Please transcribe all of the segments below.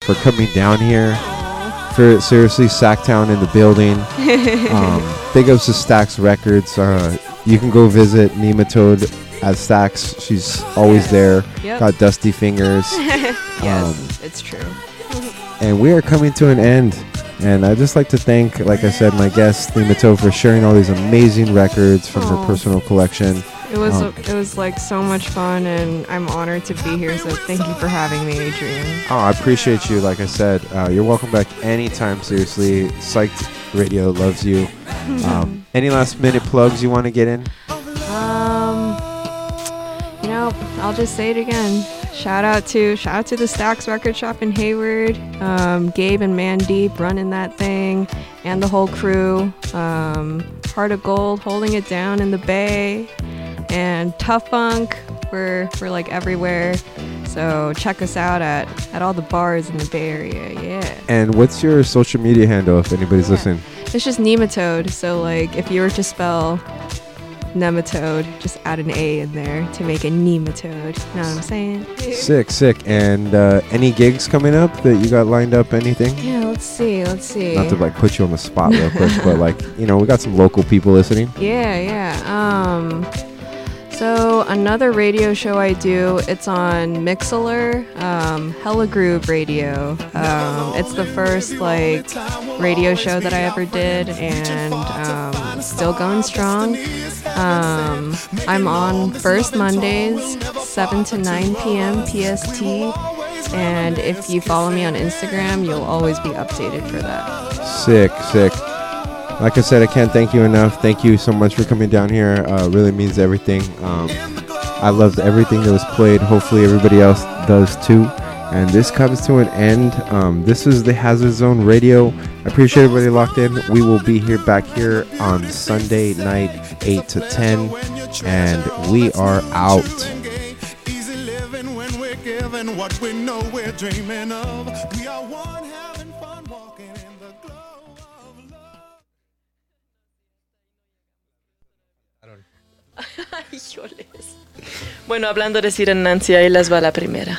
for coming down here. For seriously, Sacktown in the building. Big ups to Stax Records. You can go visit Nematode at Stax. She's always there. Yep. Got dusty fingers. Yes, it's true. And we are coming to an end. And I'd just like to thank, like I said, my guest, Nematode, for sharing all these amazing records from her personal collection. It was like so much fun, and I'm honored to be here. So thank you for having me, Adrian. Oh, I appreciate you. Like I said, you're welcome back anytime. Seriously, Psyched Radio loves you. Any last minute plugs you want to get in? I'll just say it again. Shout out to the Stax Record Shop in Hayward. Gabe and Mandeep running that thing, and the whole crew. Heart of Gold holding it down in the Bay, and Tough Funk. We're like everywhere. So check us out at all the bars in the Bay Area. Yeah. And what's your social media handle if anybody's listening? It's just Nematode. So like if you were to spell Nematode, just add an A in there to make a Nematode. Know what I'm saying? Sick. And any gigs coming up that you got lined up? Anything? Yeah, let's see. Not to like put you on the spot real quick, but like, we got some local people listening. Yeah. So another radio show I do, it's on Mixlr, Hella Groove Radio. It's the first like radio show that I ever did, and still going strong. I'm on first Mondays, 7 to 9 p.m. PST, and if you follow me on Instagram, you'll always be updated for that. Sick. Like I said, I can't thank you enough. Thank you so much for coming down here. Really means everything. I loved everything that was played. Hopefully everybody else does too. And this comes to an end. This is the Hazard Zone Radio. I appreciate everybody locked in. We will be back here on Sunday night, 8 to 10. And we are out. Easy living when we're given what we know we're dreaming of. We are one having fun walking in the glow of love. Híjoles. Bueno, hablando de Sir and Nancy, ahí les va la primera.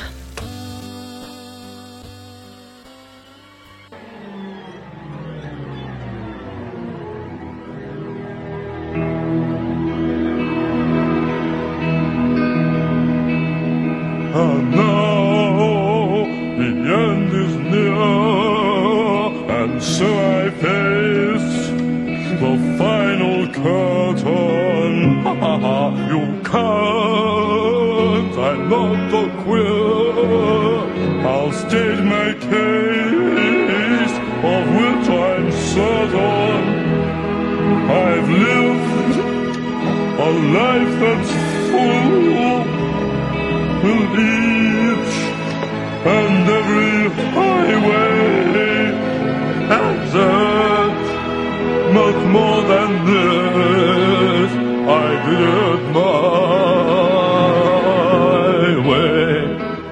And now the end is near, and so I face the final curtain. You can't, I'm not a queer. I'll state my case, of which I'm certain. I've lived a life that's full. Will each and every highway exit much more than this. I did it my way.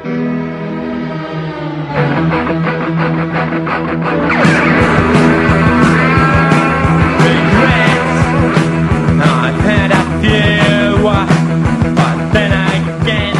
Regrets, I've had a few, but then again.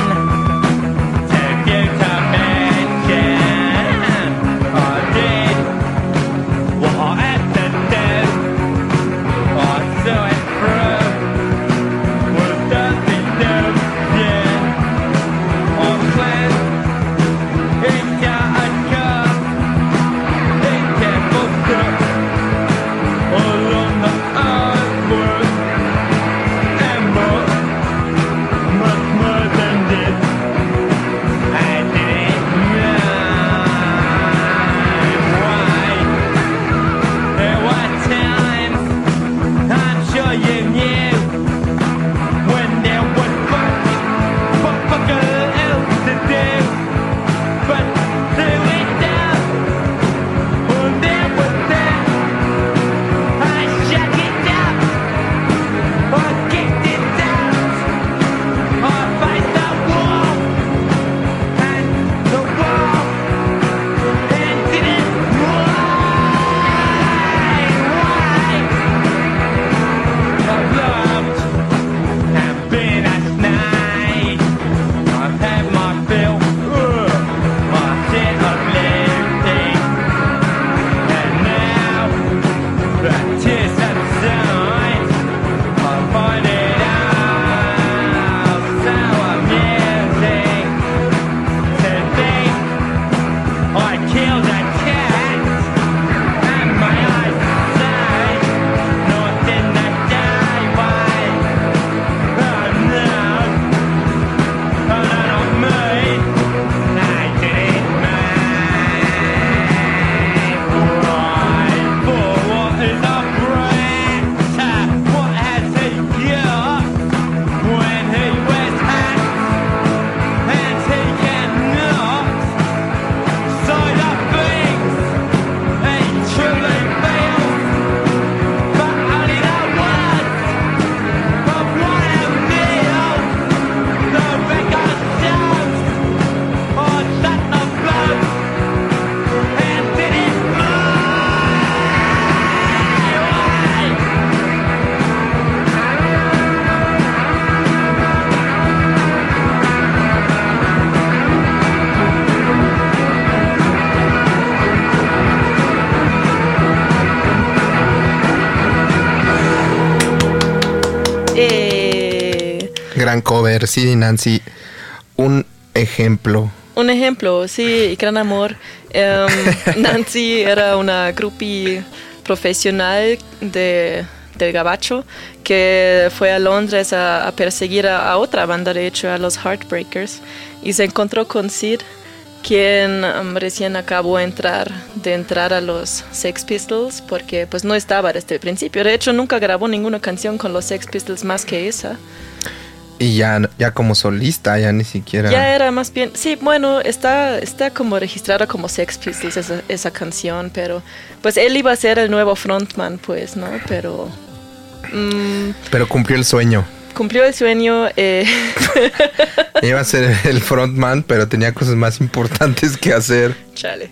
Gran cover, sí, Nancy. Un ejemplo. Un ejemplo, sí, Gran Amor. Nancy era una groupie profesional del gabacho que fue a Londres a perseguir a otra banda, de hecho, a los Heartbreakers, y se encontró con Sid, quien recién acabó de entrar a los Sex Pistols, porque pues no estaba desde el principio. De hecho, nunca grabó ninguna canción con los Sex Pistols más que esa. Y ya como solista, ya ni siquiera... Ya era más bien... Sí, bueno, está como registrada como Sex Pistols esa canción, pero pues él iba a ser el nuevo frontman, pues, ¿no? Pero... pero cumplió el sueño. Cumplió el sueño. Iba a ser el frontman, pero tenía cosas más importantes que hacer. Chale.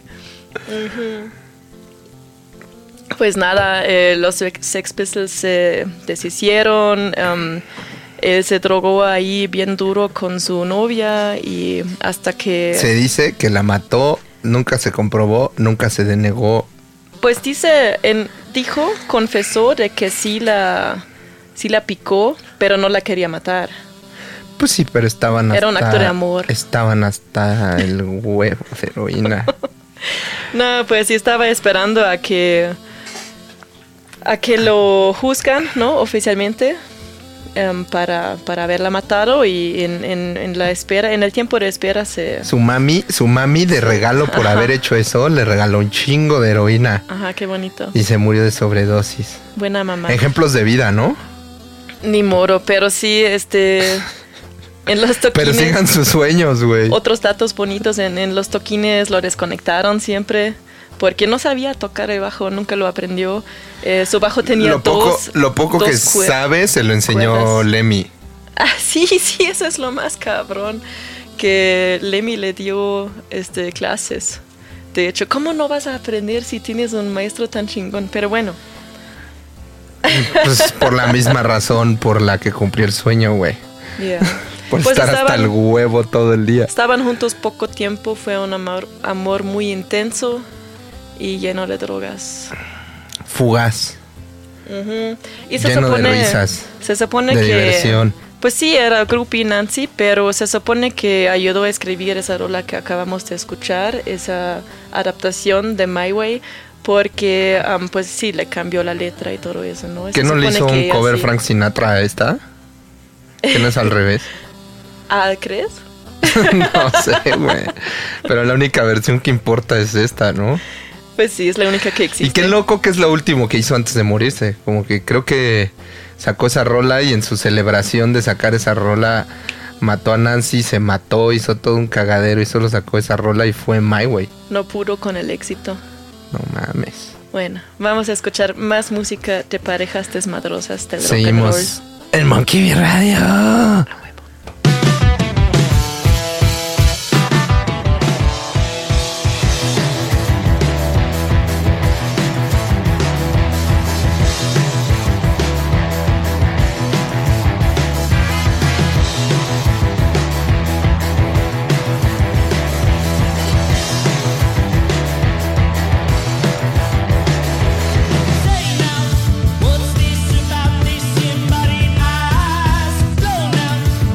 Pues nada, los Sex Pistols se deshicieron. Él se drogó ahí bien duro con su novia y hasta que... Se dice que la mató, nunca se comprobó, nunca se denegó. Pues confesó de que sí la picó, pero no la quería matar. Pues sí, pero Era un acto de amor. Estaban hasta el huevo de heroína. No, pues sí estaba esperando a que lo juzgan, ¿no? Oficialmente. Para haberla matado, y en la espera, en el tiempo de espera su mami de regalo por haber hecho eso, le regaló un chingo de heroína. Ajá, qué bonito. Y se murió de sobredosis. Buena mamá. Ejemplos de vida, ¿no? Ni moro, pero sí, en los toquines. Pero sigan sus sueños, güey. Otros datos bonitos, en los toquines lo desconectaron siempre, porque no sabía tocar el bajo, nunca lo aprendió. Su bajo tenía Lo poco que sabe se lo enseñó cuerdas. Lemmy. Ah, sí, eso es lo más cabrón, que Lemmy le dio clases. De hecho, ¿cómo no vas a aprender si tienes un maestro tan chingón? Pero bueno. Pues por la misma razón por la que cumplió el sueño, güey. Yeah. Por pues estar hasta el huevo todo el día. Estaban juntos poco tiempo, fue un amor muy intenso y lleno de drogas. Fugaz. Y lleno de risas. Se supone de que... diversión. Pues sí, era groupie Nancy, pero se supone que ayudó a escribir esa rola que acabamos de escuchar, esa adaptación de My Way, porque pues sí, le cambió la letra y todo eso, ¿no? ¿Que no le hizo un cover sí. Frank Sinatra a esta? ¿Que no es al revés? Ah, ¿crees? No sé, güey. Pero la única versión que importa es esta, ¿no? Pues sí, es la única que existe. Y qué loco que es lo último que hizo antes de morirse. Como que creo que sacó esa rola y en su celebración de sacar esa rola mató a Nancy, se mató, hizo todo un cagadero y solo sacó esa rola y fue My Way. No pudo con el éxito. No mames. Bueno, vamos a escuchar más música de parejas desmadrosas del Seguimos rock and roll. En Monkey Bee Radio. What's this about this embodied eyes? Blown out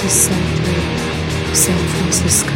the center of San Francisco.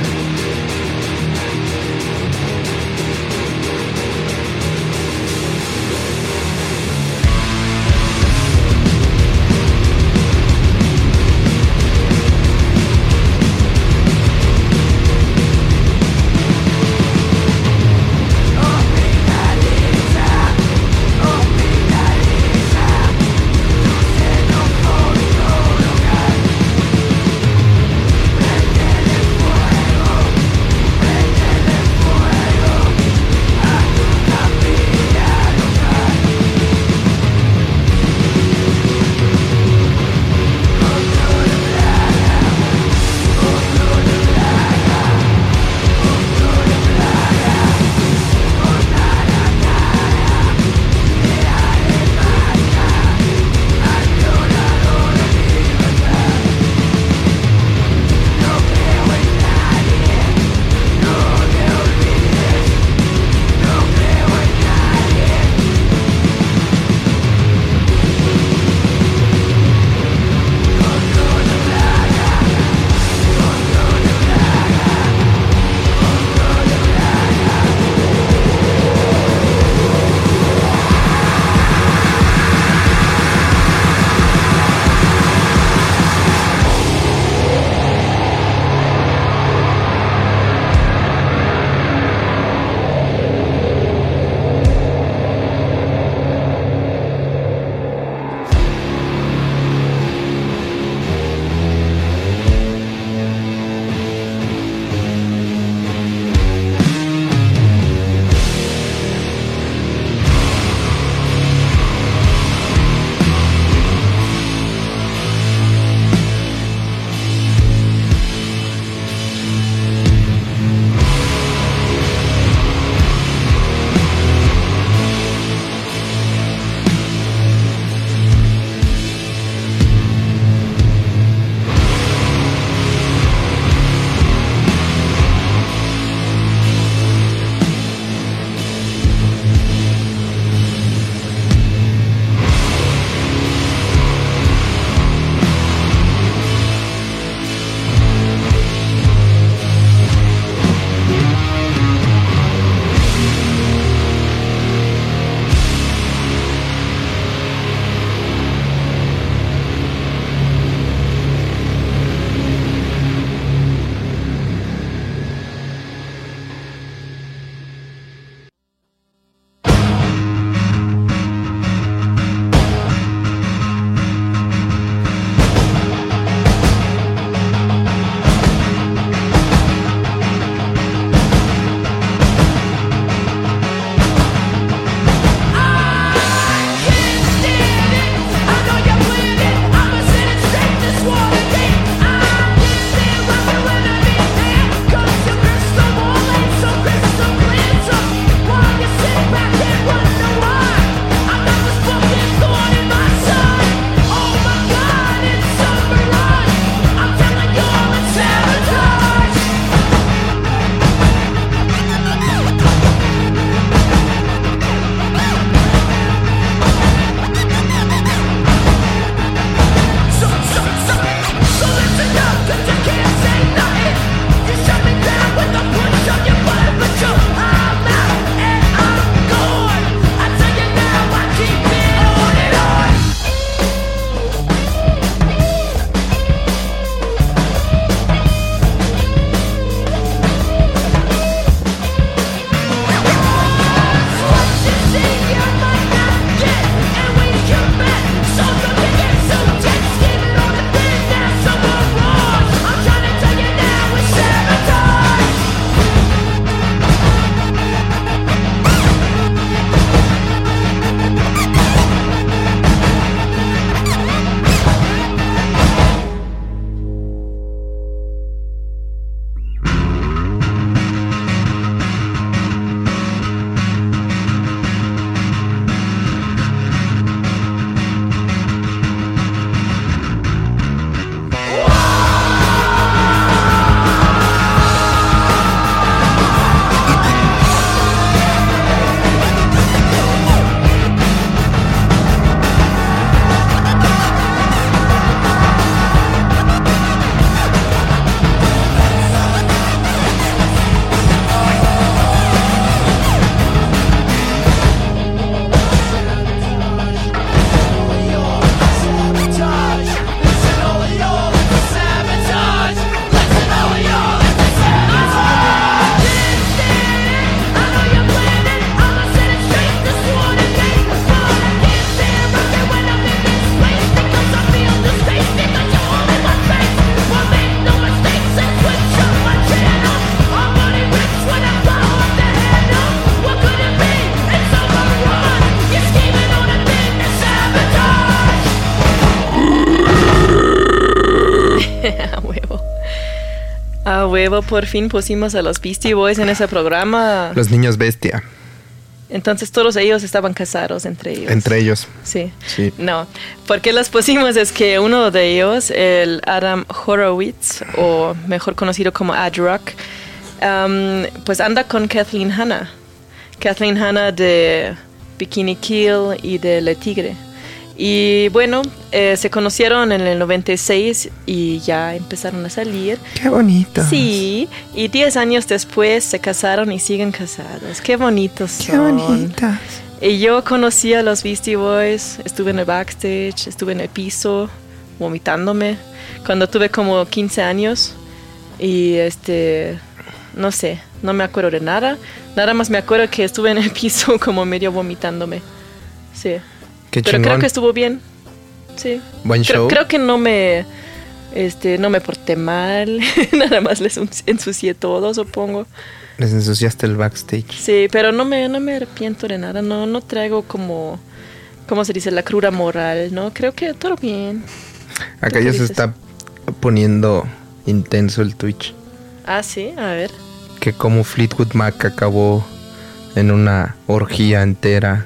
huevo, por fin pusimos a los Beastie Boys en ese programa. Los niños bestia. Entonces todos ellos estaban casados entre ellos. Entre ellos. Sí. Sí. No, ¿por qué los pusimos? Es que uno de ellos, el Adam Horowitz, o mejor conocido como Ad Rock, pues anda con Kathleen Hanna. Kathleen Hanna de Bikini Kill y de Le Tigre. Y bueno, se conocieron en el 96 y ya empezaron a salir. Qué bonito. Sí, y 10 años después se casaron y siguen casados. Qué bonitos son. Qué bonitos. Y yo conocí a los Beastie Boys, estuve en el backstage, estuve en el piso, vomitándome, cuando tuve como 15 años. Y no sé, no me acuerdo de nada. Nada más me acuerdo que estuve en el piso como medio vomitándome. Sí. Qué Pero chingón. creo que estuvo bien. Sí. Buen show. Creo que no me porté mal. Nada más les ensucié todo, supongo. Les ensuciaste el backstage. Sí, pero no me arrepiento de nada. No traigo como, ¿cómo se dice? La cruda moral, ¿no? Creo que todo bien. Acá ¿Tú ya qué se dices? está poniendo intenso el Twitch. Ah, sí, a ver. Que como Fleetwood Mac acabó en una orgía entera.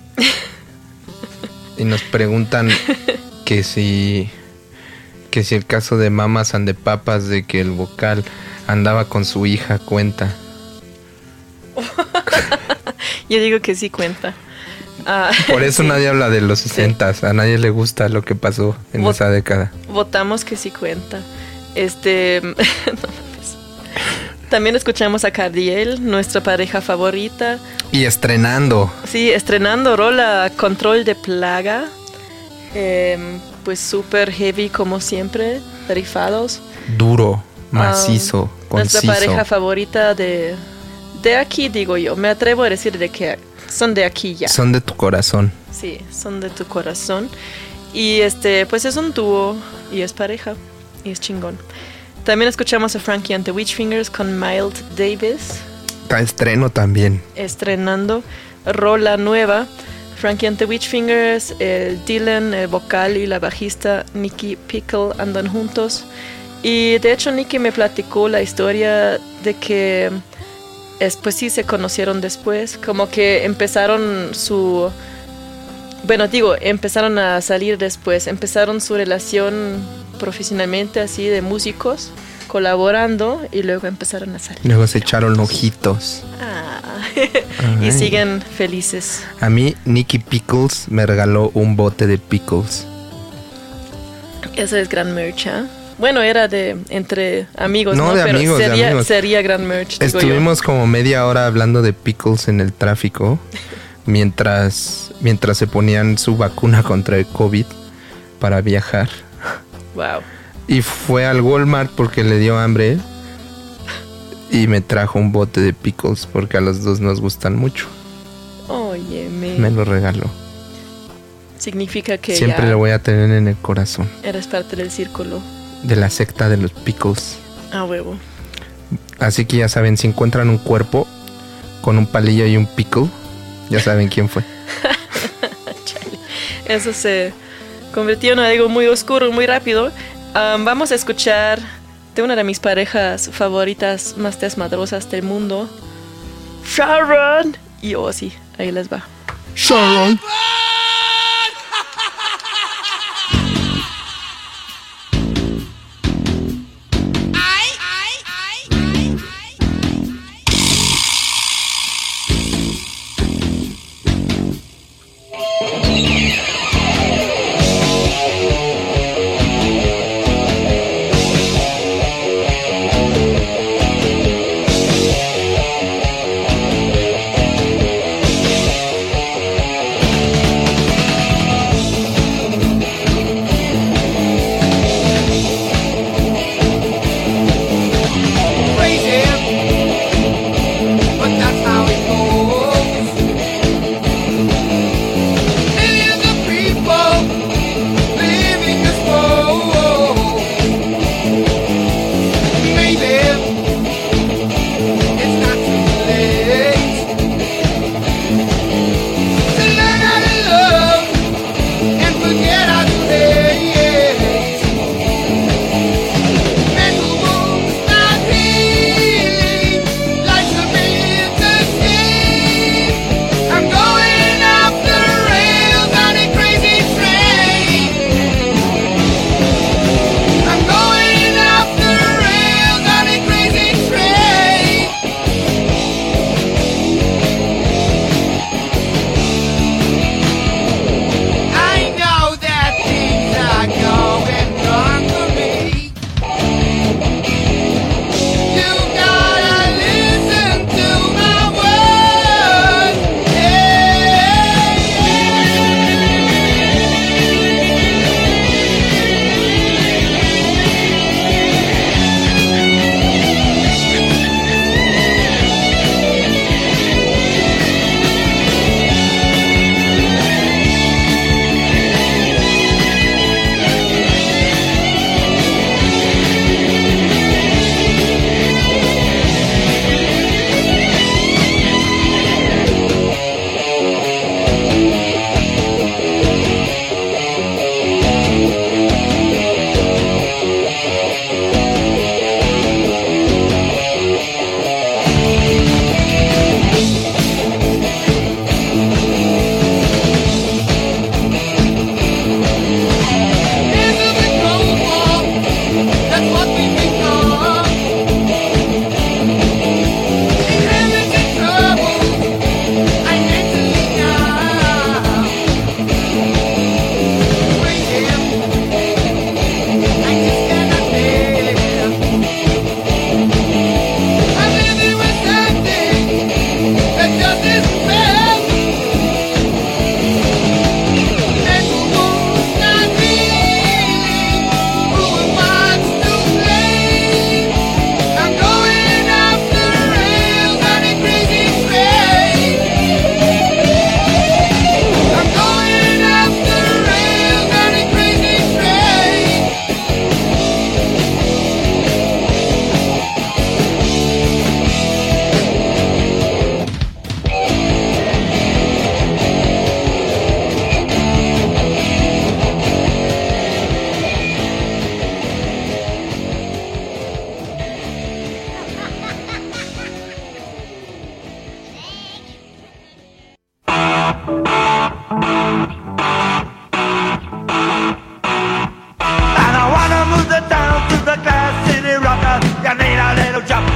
Y nos preguntan que si el caso de Mamas and the Papas, de que el vocal andaba con su hija, cuenta. Yo digo que sí cuenta. Ah, Por eso sí. nadie habla de los 60s. A nadie le gusta lo que pasó en Vot- esa década. Votamos que sí cuenta. No mames. También escuchamos a Cardiel, nuestra pareja favorita. Y estrenando. Sí, estrenando rola Control de Plaga. Pues súper heavy como siempre, rifados. Duro, macizo, Nuestra conciso. pareja favorita de aquí, digo yo. Me atrevo a decir de que son de aquí ya. Son de tu corazón. Sí, son de tu corazón. Y pues es un dúo y es pareja y es chingón. También escuchamos a Frankie and the Witchfingers con Mild Davis Está estreno también. estrenando rola nueva. Frankie and the Witchfingers, el Dylan, el vocal y la bajista Nicky Pickle andan juntos. Y de hecho Nicky me platicó la historia de que pues sí se conocieron después, como que empezaron empezaron a salir después, empezaron su relación profesionalmente así de músicos, colaborando y luego empezaron a salir. Luego se echaron ojitos. Y Ay. siguen felices. A mí, Nicky Pickles me regaló un bote de pickles. Eso es gran merch, ¿eh? Bueno, era de entre amigos, No, ¿no? de Pero amigos, de amigos. sería gran merch, digo yo. Estuvimos como media hora hablando de pickles en el tráfico mientras se ponían su vacuna contra el COVID para viajar. Wow. Y fue al Walmart porque le dio hambre y me trajo un bote de pickles porque a los dos nos gustan mucho. Óyeme. Me lo regaló. Significa que Siempre ya lo voy a tener en el corazón. eres parte del círculo. De la secta de los pickles. A huevo. Así que ya saben, si encuentran un cuerpo con un palillo y un pickle, ya saben quién fue. Eso se convirtió en algo muy oscuro, muy rápido. Vamos a escuchar de una de mis parejas favoritas más desmadrosas del mundo, Sharon y Ozzy. Ahí les va. Sharon.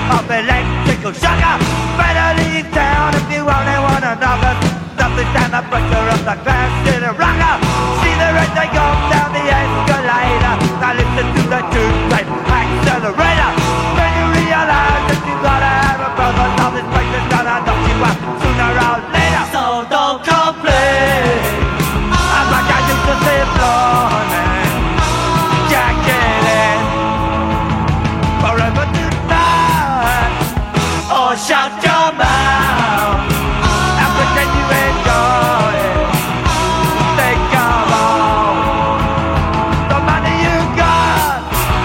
of electrical sugar. Better leave town if you only want another. Nothing stand the pressure of the glass in a rocker. See the red they go down the escalator. Now listen to the two-type accelerator. Then you realize that you gotta have a brother. Now this place is gonna knock you out sooner or later. So don't complain. I'm like I used to say, morning, jack it in. Forever tonight, or shut your mouth and pretend you enjoy it. Think of all the money you got,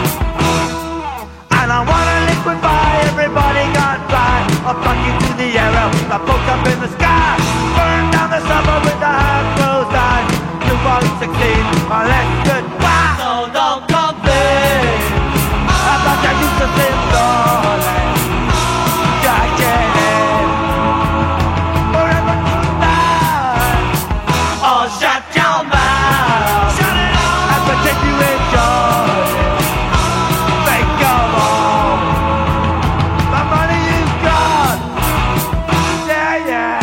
and I wanna liquefy everybody gone by. I'll plug you to the arrow, I poke up in the sky, burn down the suburb with the half closed eyes. You won't succeed unless goodbye. So don't complain about your use of this darling. Jack it in. Forever tonight. Oh, shut your mouth. Shut it off. And pretend you enjoy it. Think of all the money you've got. Yeah, yeah.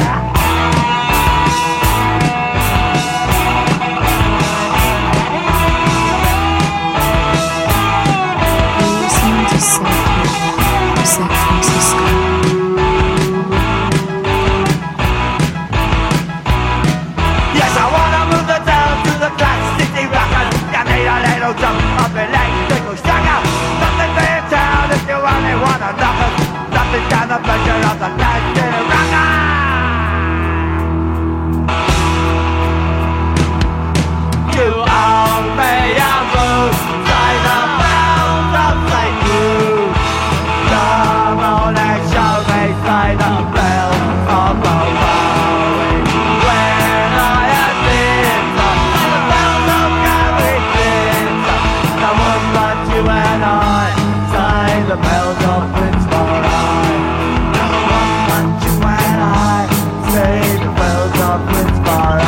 Listening to San Francisco. Yes, I wanna move the town to the Class City Rockers. You need a little jump of electrical sugar. Nothing for your town if you only want a knocker. Nothing down the pleasure of the Class City Rocker. You owe me a room, say the bells of St. Jude. Come on and show me, say the bells of the Bowery. When I had been the bells of Gary Clinton, the one but you and I, say the bells of Fitzroy. The one but you and I, say the bells of Fitzroy.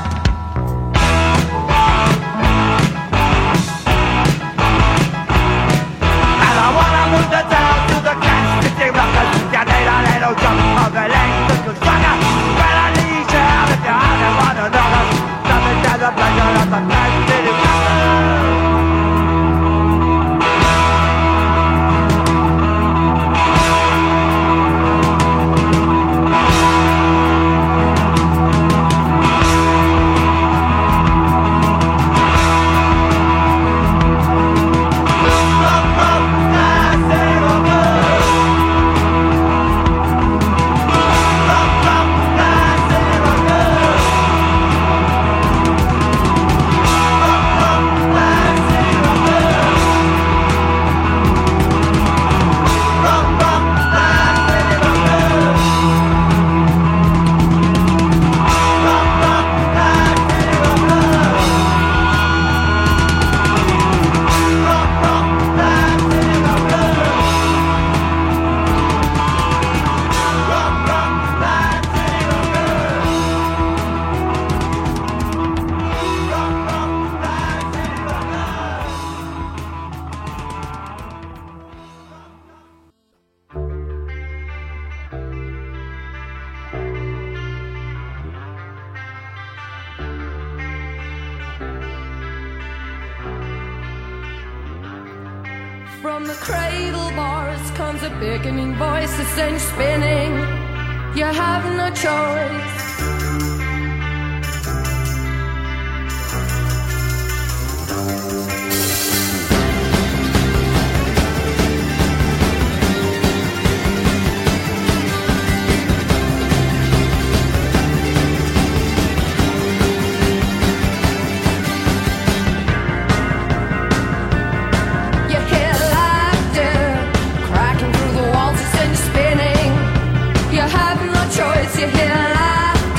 And I wanna move the town to the Class City Rockers. You need a little jump of electrical sugar. Better leave town if you only want another. Nothing to the pleasure of the Class City Rockers. From the cradle bars comes a beckoning voice that sends you spinning. You have no choice. You hear laughter cracking through the walls that send you spinning. You have no choice. You hear laughter.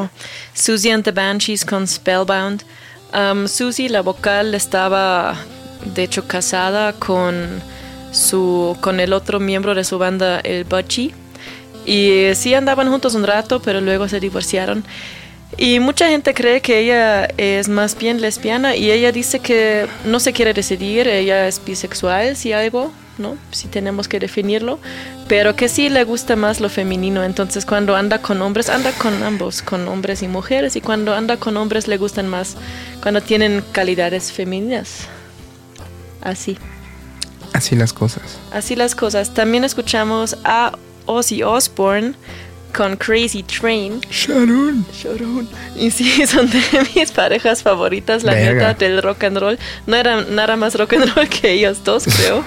huevo. Susie and the Banshees con Spellbound. Susie, la vocal, estaba de hecho casada con el otro miembro de su banda, el Butchie. Y sí andaban juntos un rato, pero luego se divorciaron. Y mucha gente cree que ella es más bien lesbiana y ella dice que no se quiere decidir, ella es bisexual, si algo, ¿no? Si tenemos que definirlo, pero que sí le gusta más lo femenino. Entonces cuando anda con hombres, anda con ambos, con hombres y mujeres, y cuando anda con hombres le gustan más cuando tienen calidades femeninas. Así. Así las cosas. Así las cosas. También escuchamos a Ozzy Osbourne con Crazy Train. Sharon. Y sí, son de mis parejas favoritas, la Verga. neta, del rock and roll. No era nada más rock and roll que ellos dos, creo.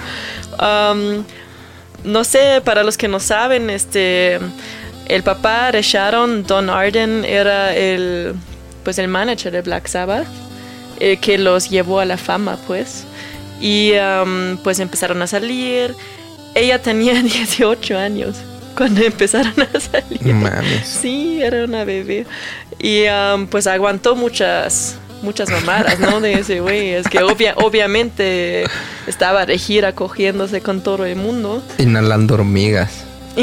No sé, para los que no saben, el papá de Sharon, Don Arden, era el manager de Black Sabbath, que los llevó a la fama, pues. Y pues empezaron a salir. Ella tenía 18 años cuando empezaron a salir. No mames. Sí, era una bebé. Y pues aguantó muchas mamadas, ¿no? De ese güey. Es que obviamente estaba de gira cogiéndose con todo el mundo. Inhalando hormigas,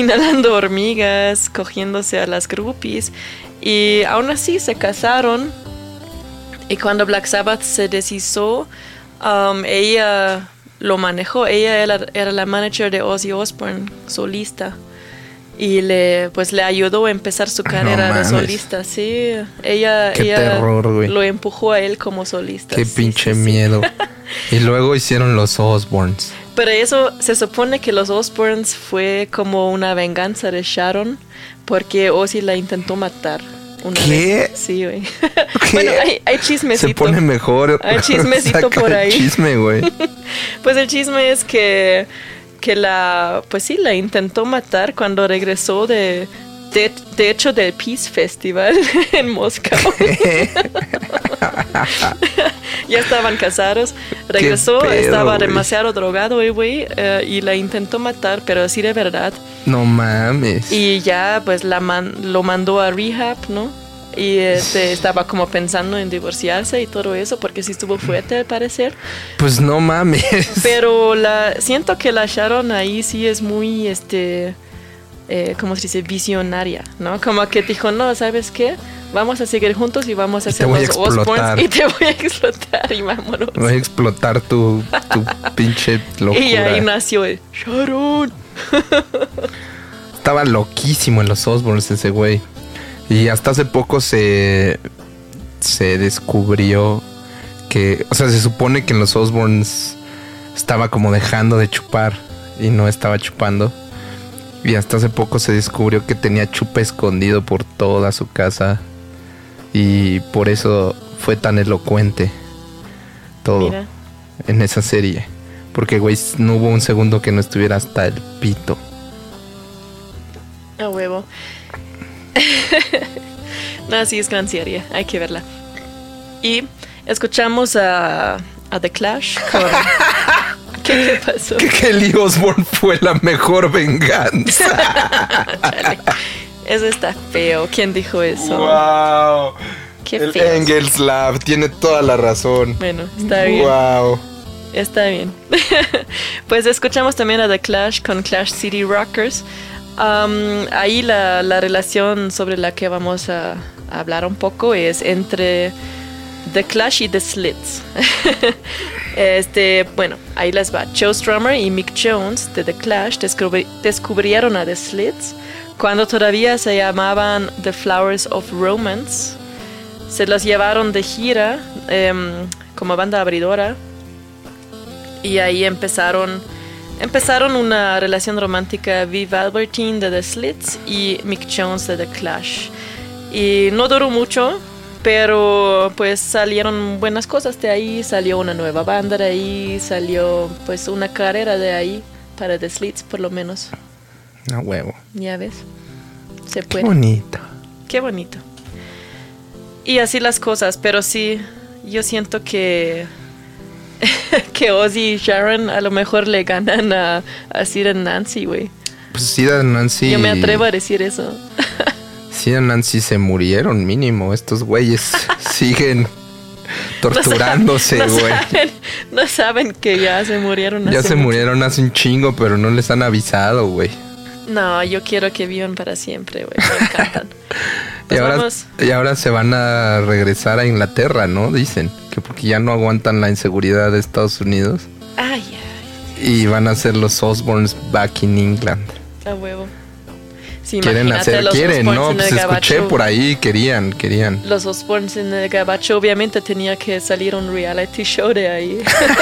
cogiéndose a las groupies. Y aún así se casaron. Y cuando Black Sabbath se deshizo, ella lo manejó. Ella era la manager de Ozzy Osbourne, solista. Y le ayudó a empezar su carrera de mames. solista. Sí, ella terror, güey. lo empujó a él como solista. Qué Sí, pinche sí, sí. miedo. Y luego hicieron los Osbournes. Pero eso se supone que los Osbournes fue como una venganza de Sharon, porque Ozzy la intentó matar una ¿Qué? vez. Sí, güey. ¿Qué? Bueno, hay chismecito. Se pone mejor. Hay chismecito Saca por el ahí. chisme, güey. Pues el chisme es que la intentó matar cuando regresó de hecho del Peace Festival en Moscú. Ya estaban casados. Regresó, pedo, estaba güey. demasiado drogado el güey, y la intentó matar, pero así de verdad. No mames. Y ya pues lo mandó a rehab, ¿no? Y estaba como pensando en divorciarse y todo eso, porque sí estuvo fuerte al parecer. Pues no mames. Pero siento que la Sharon ahí sí es muy, ¿cómo se dice? Visionaria, ¿no? Como que dijo, no, ¿sabes qué? Vamos a seguir juntos y vamos a Y te hacer voy a los explotar. Osbournes y te voy a explotar y vámonos. Voy a explotar tu pinche locura. Y ahí nació el Sharon. Estaba loquísimo en los Osbournes ese güey. Y hasta hace poco se descubrió que... O sea, se supone que en los Osbournes estaba como dejando de chupar y no estaba chupando. Y hasta hace poco se descubrió que tenía chupe escondido por toda su casa. Y por eso fue tan elocuente todo. Mira. En esa serie. Porque, güey, no hubo un segundo que no estuviera hasta el pito. A huevo. No, sí es gran serie, hay que verla. Y escuchamos a The Clash con... ¿Qué pasó? Que Kelly Osbourne fue la mejor venganza. Chale. Eso está feo. ¿Quién dijo eso? Wow. Qué El feo. Engels Lab tiene toda la razón. Bueno, está bien. Wow. Está bien. Pues escuchamos también a The Clash con Clash City Rockers. Ahí la relación sobre la que vamos a hablar un poco es entre The Clash y The Slits. Bueno, ahí les va. Joe Strummer y Mick Jones de The Clash descubrieron a The Slits cuando todavía se llamaban The Flowers of Romance. Se los llevaron de gira como banda abridora. Y ahí empezaron una relación romántica. Viv Albertine de The Slits y Mick Jones de The Clash. Y no duró mucho, pero pues salieron buenas cosas de ahí. Salió una nueva banda de ahí. Salió pues una carrera de ahí para The Slits por lo menos. A huevo. Ya ves, se Qué puede. bonito. Qué bonito. Y así las cosas, pero sí, yo siento que Ozzy y Sharon a lo mejor le ganan a Sid and Nancy, güey. Pues sí, Nancy. Yo me atrevo a decir eso. Parecida Nancy se murieron mínimo. Estos güeyes siguen torturándose, güey. No saben que ya se murieron. Ya hace se mucho. murieron hace un chingo, pero no les han avisado, güey. No, yo quiero que vivan para siempre, güey. Me encantan. Pues Y ahora se van a regresar a Inglaterra, ¿no? Dicen que porque ya no aguantan la inseguridad de Estados Unidos. Ay, Y van a ser los Osbournes back in England. a huevo. Sí, Quieren imagínate hacer, los quieren, Osbournes ¿no? en Pues el escuché gabacho. por ahí, querían. Los Osbournes en el gabacho, obviamente tenía que salir un reality show de ahí.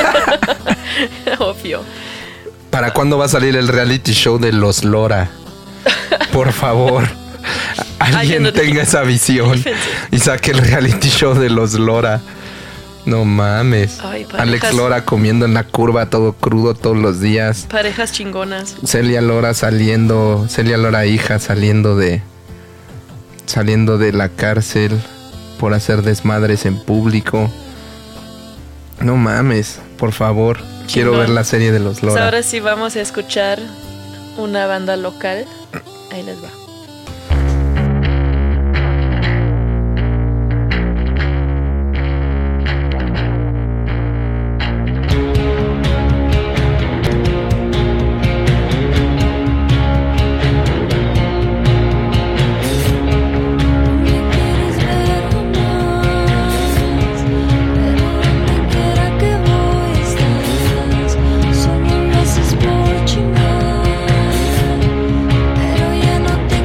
Obvio. ¿Para cuándo va a salir el reality show de los Lora? Por favor. Alguien no tenga esa visión y saque el reality show de los Lora. No mames. Ay, Alex parejas- Lora comiendo en la curva todo crudo todos los días. Parejas chingonas. Celia Lora hija saliendo de la cárcel por hacer desmadres en público. No mames, por favor. Quiero Chingón. ver la serie de los Pues Lora. ahora sí vamos a escuchar una banda local. Ahí les va. Solo lo haces por chingar, pero ya no te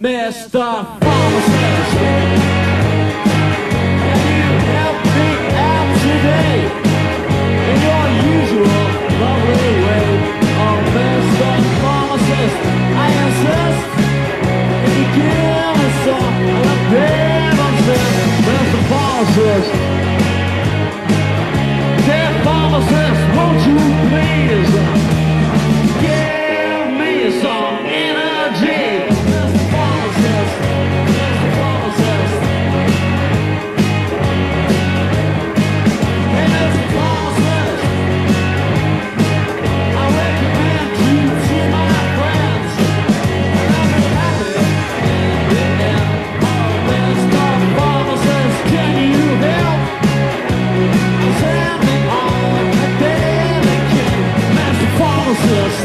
Mr. Pharmacist. Can you help me out today in your usual lovely way? Oh, Mr. Pharmacist, I insist. Can you give me some of the Pemberton, Mr. Pharmacist? Dear Pharmacist, won't you please give me some energy? Mr. Pharmacist, Mr. Pharmacist. Hey, Mr. Pharmacist, I recommend you to my friends. I'll be happy in the end. Oh, Mr. Pharmacist, can you help? Send me on a daily kick, Mr. Pharmacist.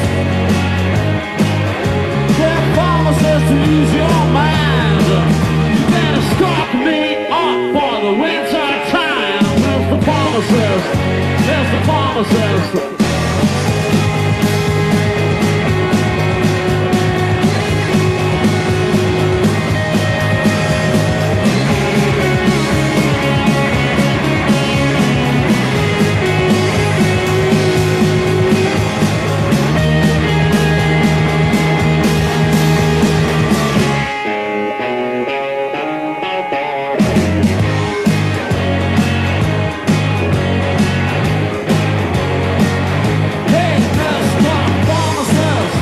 Dear Pharmacist, lose your mind. You better stock me up for the winter time, Mr. Pharmacist, Mr. Pharmacist. Hey, Mr. Pharmacist,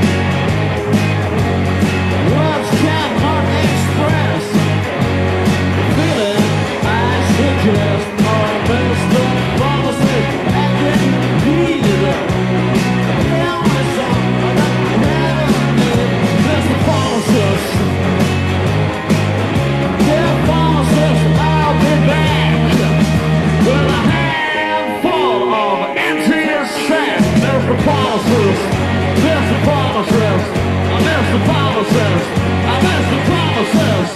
words cannot express the feeling I suggest. Oh, Mr. Pharmacist, I can need it. Tell me some of the remedy, Mr. Pharmacist. Dear Pharmacist, I'll be back with a handful of empty sacks, Mr. Pharmacist, Mr. Pharmacist, Mr. Pharmacist, Mr. Pharmacist.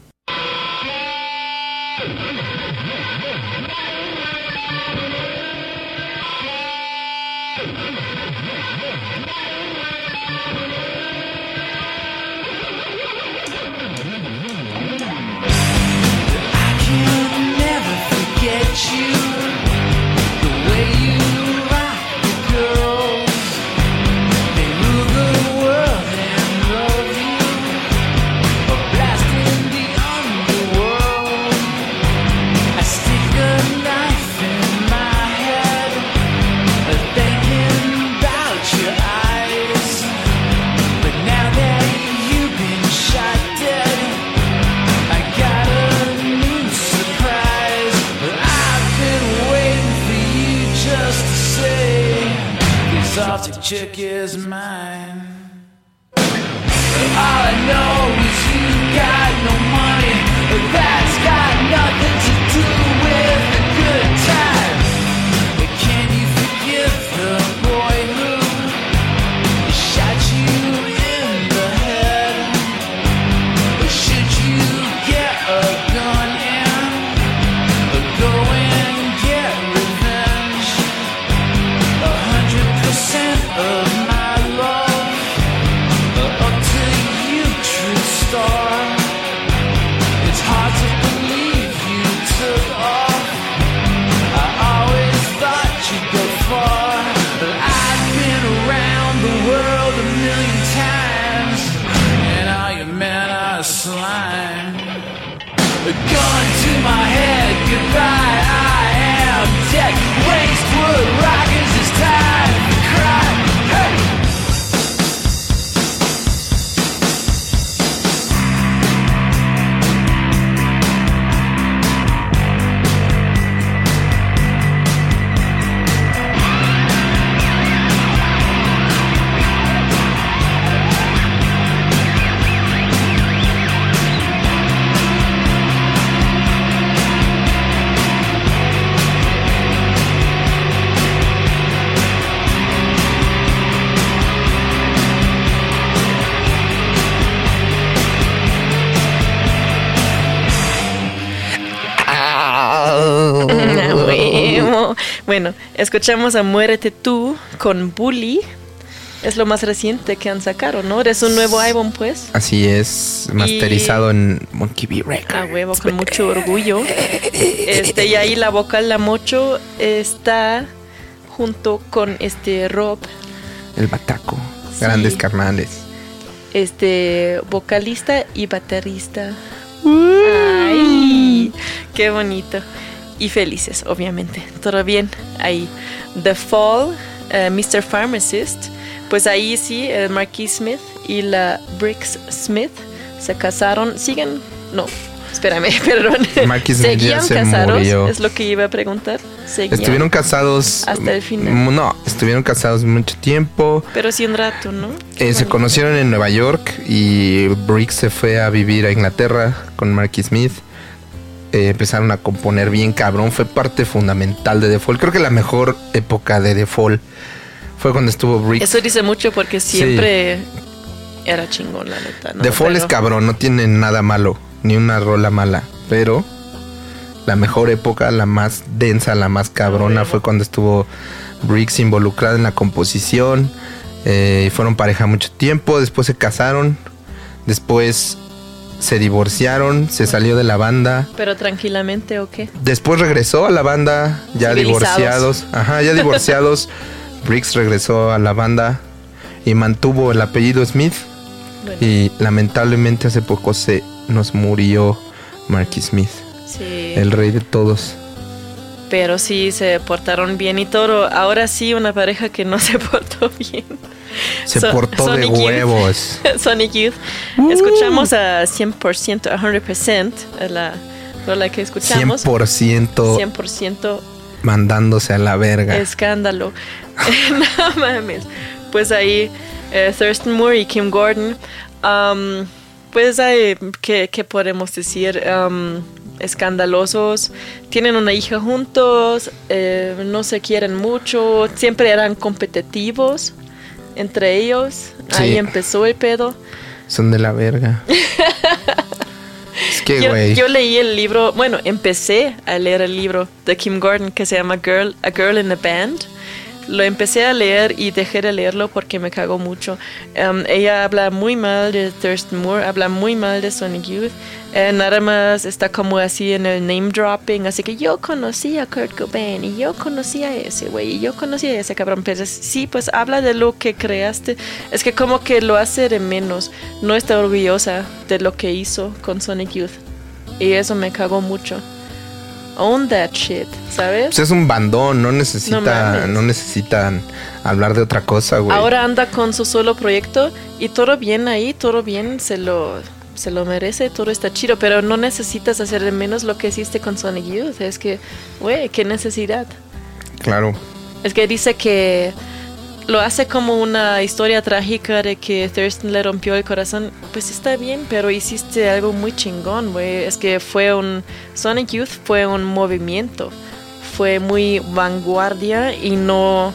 I can never forget you, the way you rock the girls. They rule the world and love you, a blast in the underworld. I stick a knife in my head, thinking about your eyes. But now that you've been shot dead, I got a new surprise. I've been waiting for you just to say, this Arctic chick is mine. All I know is you got no money. That's got nothing to do with a good time. Can you forgive the boy who shot you in the head? Or should you get a gun and go and get revenge? 100% of my love, up to you, true star. It's hard to believe you took off. I always thought you'd go far, but I've been around the world a million times, and all your men are slime. A gun to my head, goodbye, I am dead. Waste wood rockers, it's time to cry. Hey! Bueno, escuchamos a Muérete Tú con Bully. Es lo más reciente que han sacado, ¿no? Es un nuevo álbum, pues. Así es, masterizado en Monkey B Records. A huevo, con mucho orgullo. Y ahí la vocal, la Mocho, está junto con Rob. El Bataco, Sí. grandes carnales. Vocalista y baterista. Ay, qué bonito. Y felices, obviamente. Todo bien ahí. The Fall, Mr. Pharmacist. Pues ahí sí, Marquis Smith y la Briggs Smith se casaron. ¿Siguen? No, espérame, perdón. Marquis Smith ya ¿Seguían se casados? murió. Es lo que iba a preguntar. ¿Seguían? Estuvieron casados hasta el final. No, estuvieron casados mucho tiempo. Pero sí un rato, ¿no? Se conocieron en Nueva York y Briggs se fue a vivir a Inglaterra con Marquis Smith. Empezaron a componer bien cabrón. Fue parte fundamental de The Fall. Creo que la mejor época de The Fall fue cuando estuvo Briggs. Eso dice mucho porque siempre era chingón, la neta, ¿no? The Fall es cabrón, no tiene nada malo, ni una rola mala, pero la mejor época, la más densa, la más cabrona fue cuando estuvo Briggs involucrada en la composición. Fueron pareja mucho tiempo, después se casaron, después se divorciaron, se salió de la banda. ¿Pero tranquilamente o qué? Después regresó a la banda, ya Civilizados. divorciados. Ajá, ya divorciados. Briggs regresó a la banda y mantuvo el apellido Smith. Bueno. Y lamentablemente hace poco se nos murió Marquis Smith, Sí. el rey de todos. Pero sí se portaron bien y todo. Ahora sí, una pareja que no se portó bien. Se portó de Sonic Youth. huevos. Sonic Youth. Escuchamos a 100%, a 100%, la rola que escuchamos. 100% 100% mandándose a la verga. escándalo. No mames. Pues ahí Thurston Moore y Kim Gordon. Pues ahí, ¿qué podemos decir? Escandalosos. Tienen una hija juntos. No se quieren mucho. Siempre eran competitivos entre ellos. Sí. Ahí empezó el pedo. Son de la verga. Es que, güey. Yo leí el libro, bueno, empecé a leer el libro de Kim Gordon que se llama A Girl in a Band. Lo empecé a leer y dejé de leerlo porque me cagó mucho. Ella habla muy mal de Thurston Moore, habla muy mal de Sonic Youth. Nada más está como así en el name dropping, así que yo conocí a Kurt Cobain y yo conocí a ese güey y yo conocí a ese cabrón. Pero sí, pues habla de lo que creaste. Es que como que lo hace de menos. No está orgullosa de lo que hizo con Sonic Youth. Y eso me cagó mucho. Own that shit, ¿sabes? Pues es un bandón, no necesitan hablar de otra cosa, güey. Ahora anda con su solo proyecto y todo bien ahí, todo bien, se lo merece, todo está chido, pero no necesitas hacer de menos lo que hiciste con Sonic Youth. Es que, güey, qué necesidad. Claro. Es que dice que lo hace como una historia trágica de que Thurston le rompió el corazón. Pues está bien, pero hiciste algo muy chingón, güey. Es que Sonic Youth fue un movimiento. Fue muy vanguardia y no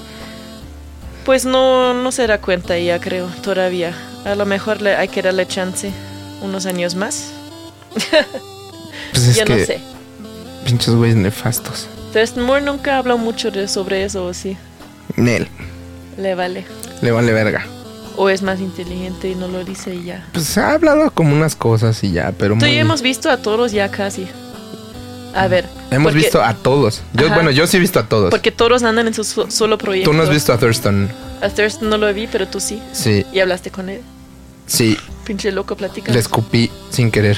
se da cuenta ya, creo, todavía. A lo mejor hay que darle chance unos años más. Pues es ya que no sé. pinches güeyes nefastos. Thurston Moore nunca habló mucho sobre eso, ¿o sí? Nel, Le vale. le vale verga. O es más inteligente y no lo dice y ya. Pues ha hablado como unas cosas y ya, pero Tú y muy... yo hemos visto a todos ya casi. A ver. Hemos porque- visto a todos. Ajá. Yo sí he visto a todos. Porque todos andan en su solo proyecto. Tú no has visto a Thurston. A Thurston no lo vi, pero tú sí. Sí, Y hablaste con él. sí. Pinche loco, platica. Le escupí sin querer.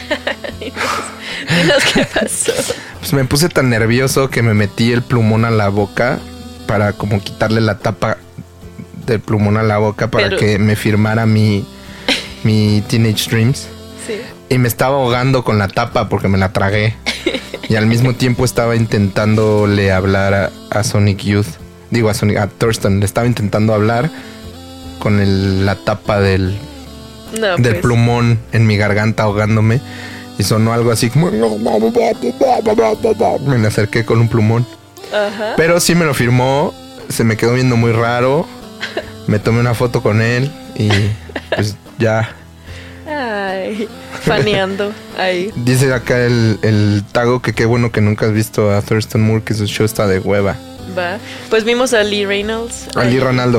Dinos qué pasó. Pues me puse tan nervioso que me metí el plumón a la boca para como quitarle la tapa del plumón a la boca para Pero- que me firmara mi Teenage Dreams. Sí. Y me estaba ahogando con la tapa porque me la tragué. Y al mismo tiempo estaba intentándole hablar a Sonic Youth. Digo, a Thurston. Le estaba intentando hablar con la tapa del No, del pues. plumón en mi garganta ahogándome. Y sonó algo así como... Me le acerqué con un plumón. Ajá. Pero sí me lo firmó. Se me quedó viendo muy raro. Me tomé una foto con él. Y pues ya... Ay, faneando ahí. Dice acá el tago que qué bueno que nunca has visto a Thurston Moore, que su show está de hueva. Va. Pues vimos a Lee Reynolds. A Lee ahí. Ronaldo.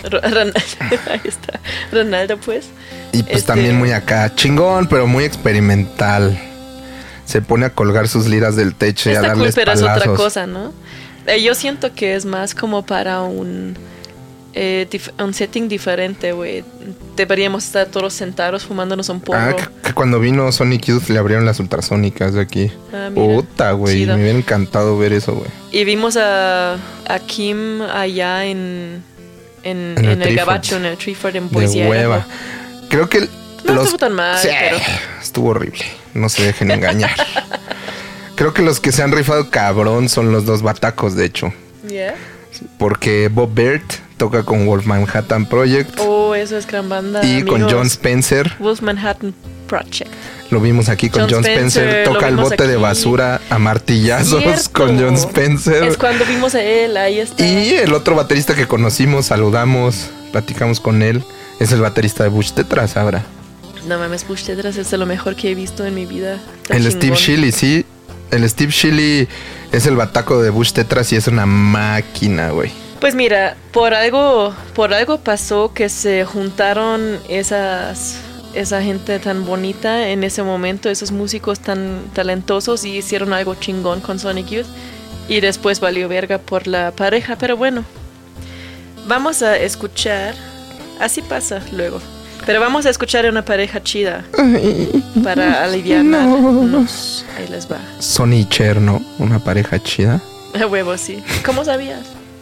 Ahí está. Ronaldo, pues. Y pues también muy acá, chingón, pero muy experimental. Se pone a colgar sus liras del techo y a Está cool, darles pero palazos. es otra cosa, ¿no? Yo siento que es más como para un setting diferente, güey. Deberíamos estar todos sentados fumándonos un porro. Que cuando vino Sonic Youth le abrieron las ultrasónicas de aquí. Mira, Puta, güey. chido. Me hubiera encantado ver eso, güey. Y vimos a Kim allá en el Treeford. Gabacho, en el Treeford, en Boise. De hueva. Idaho. Creo que No estuvo tan mal, Sí, pero... estuvo horrible. No se dejen engañar. Creo que los que se han rifado cabrón son los dos batacos, de hecho. Yeah. Porque Bob Baird toca con Wolf Manhattan Project Oh, eso es gran banda. y con amigos. John Spencer. Wolf Manhattan Project. Lo vimos aquí con John Spencer. lo Toca el vimos bote de aquí. basura a martillazos Cierto. con John Spencer. Es cuando vimos a él, ahí está. Y el otro baterista que conocimos, saludamos, platicamos con él, es el baterista de Bush Tetras ahora. No mames, Bush Tetras es de lo mejor que he visto en mi vida. Está El chingón. Steve Shilly, sí. El Steve Shilly es el bataco de Bush Tetras y es una máquina, güey. Pues mira, por algo pasó que se juntaron esa gente tan bonita en ese momento, esos músicos tan talentosos, y hicieron algo chingón con Sonic Youth. Y después valió verga por la pareja, pero bueno. Vamos a escuchar, así pasa luego, pero vamos a escuchar a una pareja chida para aliviarnos. Ahí les va. Sonny y Cher, ¿no? Una pareja chida. A huevo, sí. ¿Cómo sabías?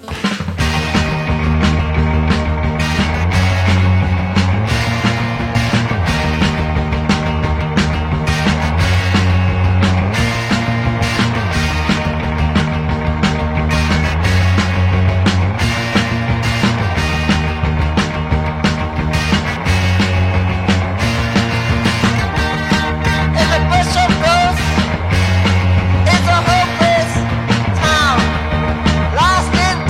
In the bush of ghosts, it's a hopeless town, lost in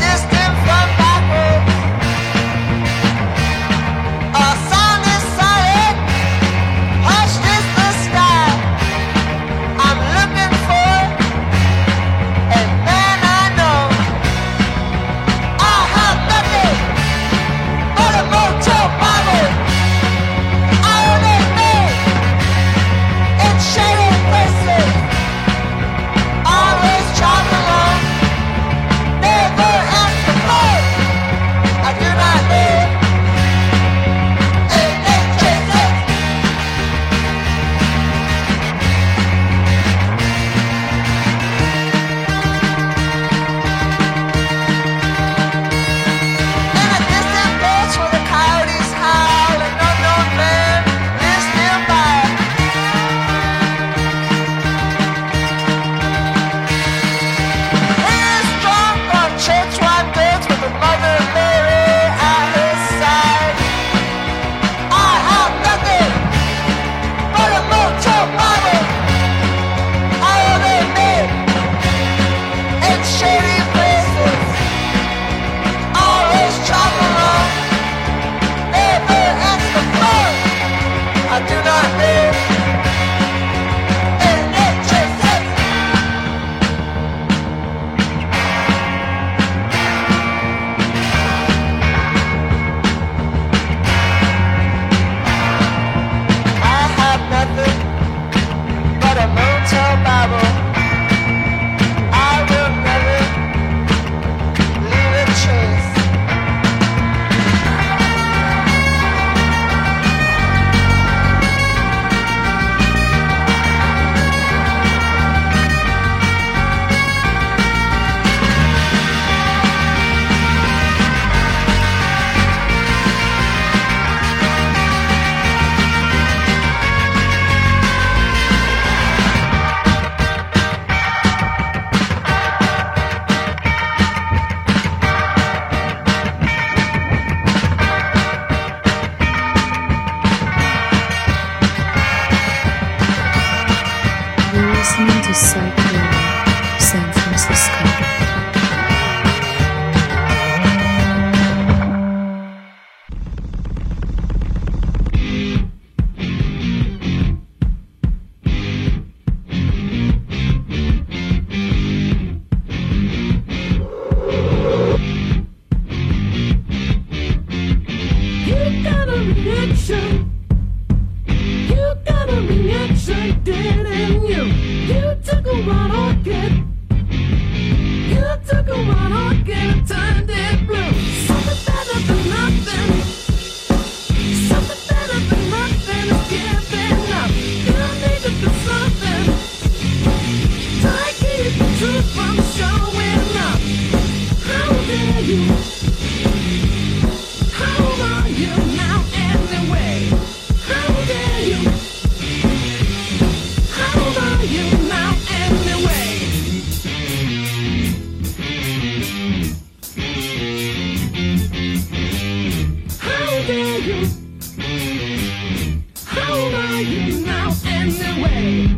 from showing up. How dare you? How are you now anyway? How dare you? How are you now anyway? How dare you? How are you now anyway?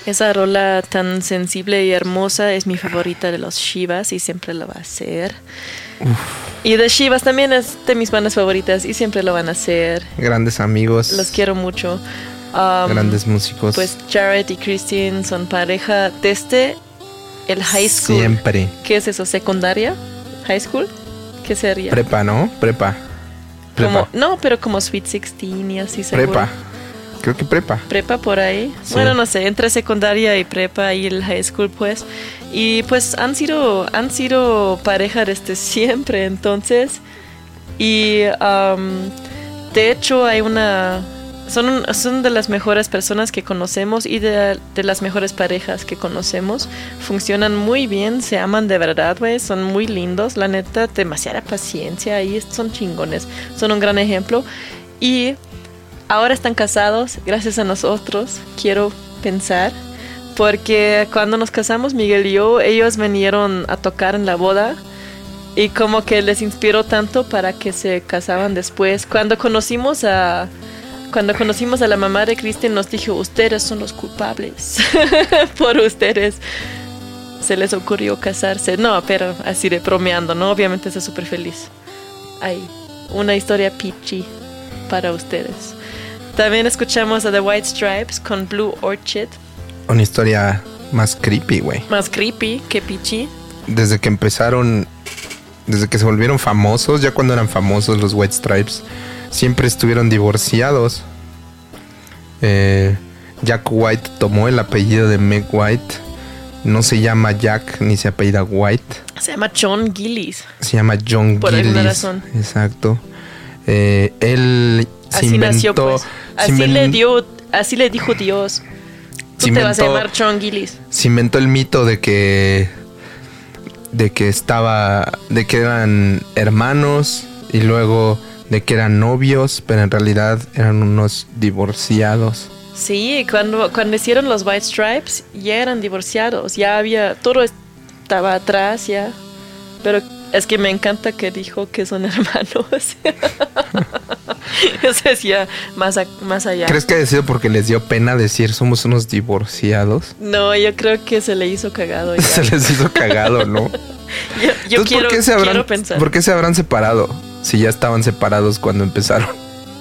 Esa rola tan sensible y hermosa es mi favorita de los Shivas y siempre lo va a ser. Y de Shivas también es de mis bandas favoritas y siempre lo van a ser. Grandes amigos. Los quiero mucho. Grandes músicos. Pues Jared y Christine son pareja desde el high school. Siempre. ¿Qué es eso? ¿Secundaria? ¿High school? ¿Qué sería? Prepa, ¿no? Prepa. No, pero como Sweet 16 y así seguro. Prepa. Creo que prepa. Prepa por ahí. Sí. Bueno, no sé, entre secundaria y prepa y el high school, pues. Y pues han sido pareja desde siempre, entonces. Y de hecho hay son de las mejores personas que conocemos y de las mejores parejas que conocemos. Funcionan muy bien, se aman de verdad, güey. Son muy lindos, la neta, demasiada paciencia y son chingones. Son un gran ejemplo. Y ahora están casados, gracias a nosotros, quiero pensar. Porque cuando nos casamos, Miguel y yo, ellos vinieron a tocar en la boda. Y como que les inspiró tanto para que se casaban después. Cuando conocimos a la mamá de Kristen, nos dijo, ustedes son los culpables. Por ustedes se les ocurrió casarse. No, pero así de bromeando, ¿no? Obviamente está súper feliz. Hay una historia peachy para ustedes. También escuchamos a The White Stripes con Blue Orchid. Una historia más creepy, güey. Más creepy que peachy. Desde que se volvieron famosos, ya cuando eran famosos los White Stripes, siempre estuvieron divorciados. Jack White tomó el apellido de Meg White. No se llama Jack ni se apellida White. Se llama John Gillis. Se llama John por Gillis. Alguna razón. Exacto. Él así se inventó. Nació, pues. Así le dijo Dios. Tú te vas a llamar John Gillis. Se inventó el mito de que eran hermanos y luego de que eran novios, pero en realidad eran unos divorciados. Sí, cuando hicieron los White Stripes ya eran divorciados, ya había, todo estaba atrás ya, pero es que me encanta que dijo que son hermanos. Eso es ya más allá. ¿Crees que ha sido porque les dio pena decir somos unos divorciados? No, yo creo que se le hizo cagado ya. Se les hizo cagado, ¿no? yo quiero pensar. ¿Por qué se habrán separado? Si ya estaban separados cuando empezaron.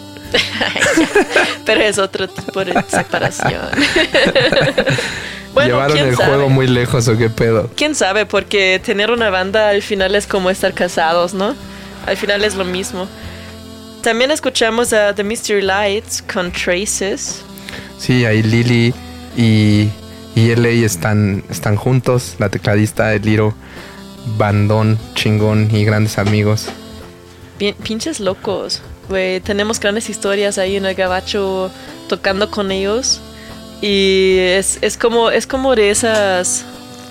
Pero es otro tipo de separación. Bueno, ¿llevaron el juego muy lejos o qué pedo? ¿Quién sabe? Porque tener una banda al final es como estar casados, ¿no? Al final es lo mismo. También escuchamos a The Mystery Lights con Traces. Sí, ahí Lily y LA están juntos. La tecladista, el Liro, bandón, chingón y grandes amigos. Bien, pinches locos, güey. Tenemos grandes historias ahí en el gabacho tocando con ellos. Y es como de esas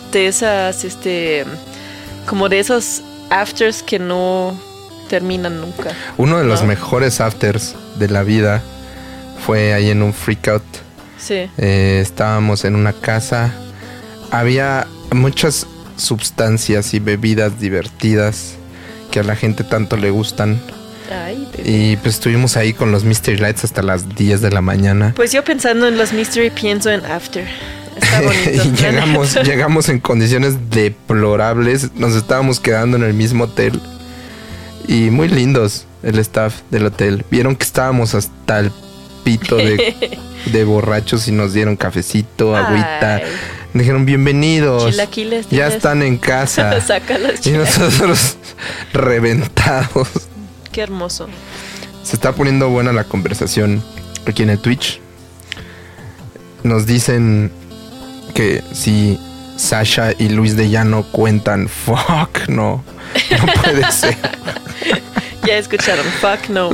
como de esos afters que no terminan nunca. Uno de los mejores afters de la vida fue ahí en un freakout. Sí. Estábamos en una casa. Había muchas sustancias y bebidas divertidas que a la gente tanto le gustan. Ay, y pues estuvimos ahí con los Mystery Lights hasta las 10 de la mañana. Pues yo pensando en los Mystery pienso en After. Está bonito. Y llegamos en condiciones deplorables. Nos estábamos quedando en el mismo hotel. Y muy lindos el staff del hotel. Vieron que estábamos hasta el pito de borrachos y nos dieron cafecito, agüita. Ay. Dijeron bienvenidos. Chilaquiles, ya están en casa. Sácalos, y nosotros reventados. Qué hermoso. Se está poniendo buena la conversación aquí en el Twitch. Nos dicen que si Sasha y Luis de Llano cuentan, fuck, no puede ser. Ya escucharon, fuck no.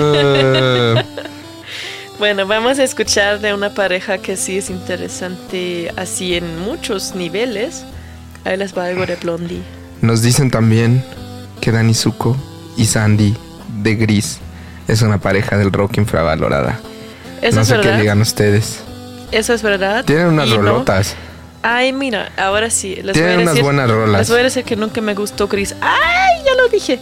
Bueno, vamos a escuchar de una pareja que sí es interesante así en muchos niveles. Ahí les va algo de Blondie. Nos dicen también que Dani Zuko y Sandy de Gris es una pareja del rock infravalorada. ¿Eso no es sé verdad? qué digan ustedes. Eso es verdad. Tienen unas rolotas. No. Ay, mira, ahora sí. Tienen unas buenas rolas. Les voy a decir que nunca me gustó Gris. ¡Ay! Ya lo dije.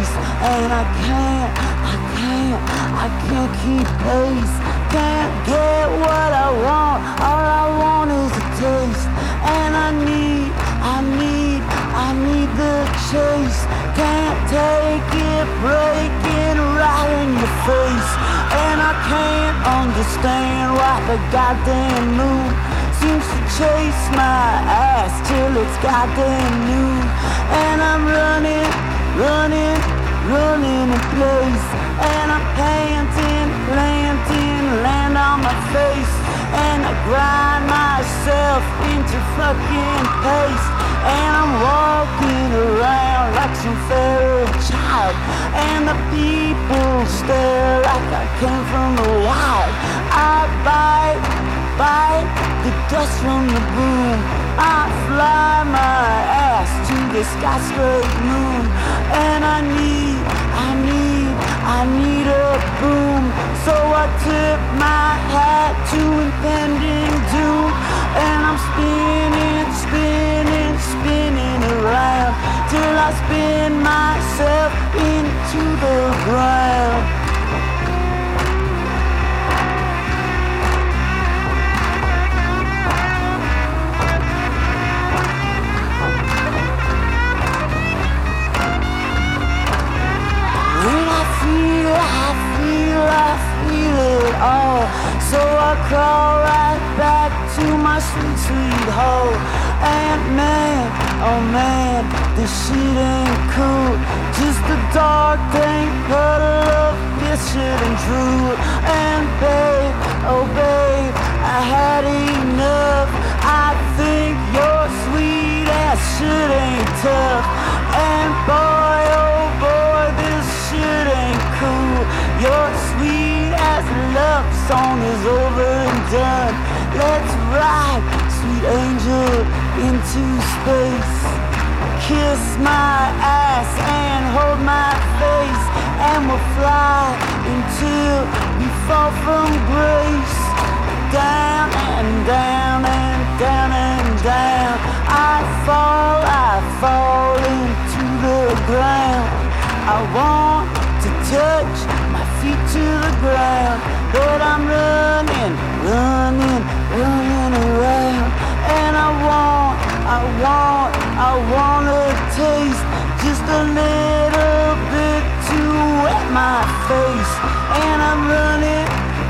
face, and I can't keep pace. Can't get what I want, all I want is a taste. And I need the chase. Can't take it breaking right in your face. And I can't understand why the goddamn moon seems to chase my ass till it's goddamn noon. And I'm running in place. And I'm planting land on my face. And I grind myself into fucking paste. And I'm walking around like some feral child. And the people stare like I came from the wild. I bite the dust from the boom. I fly my ass to the sky straight moon. And I need a boom. So I tip my hat to impending doom. And I'm spinning around till I spin myself into the ground. When I feel it all. So I crawl right back to my sweet hole. And man, oh man, this shit ain't cool. Just a dark, dank puddle of piss, shit and drool. And babe, oh babe, I had enough. I think your sweet ass shit ain't tough. And boy, oh boy, this shit ain't cool. Your sweet ass love song is over and done. Let's ride, sweet angel, into space. Kiss my ass and hold my face. And we'll fly until we fall from grace. Down and down and down and down. I fall into the ground. I want to touch my feet to the ground, but I'm running around. And I want a taste, just a little bit to wet my face. And I'm running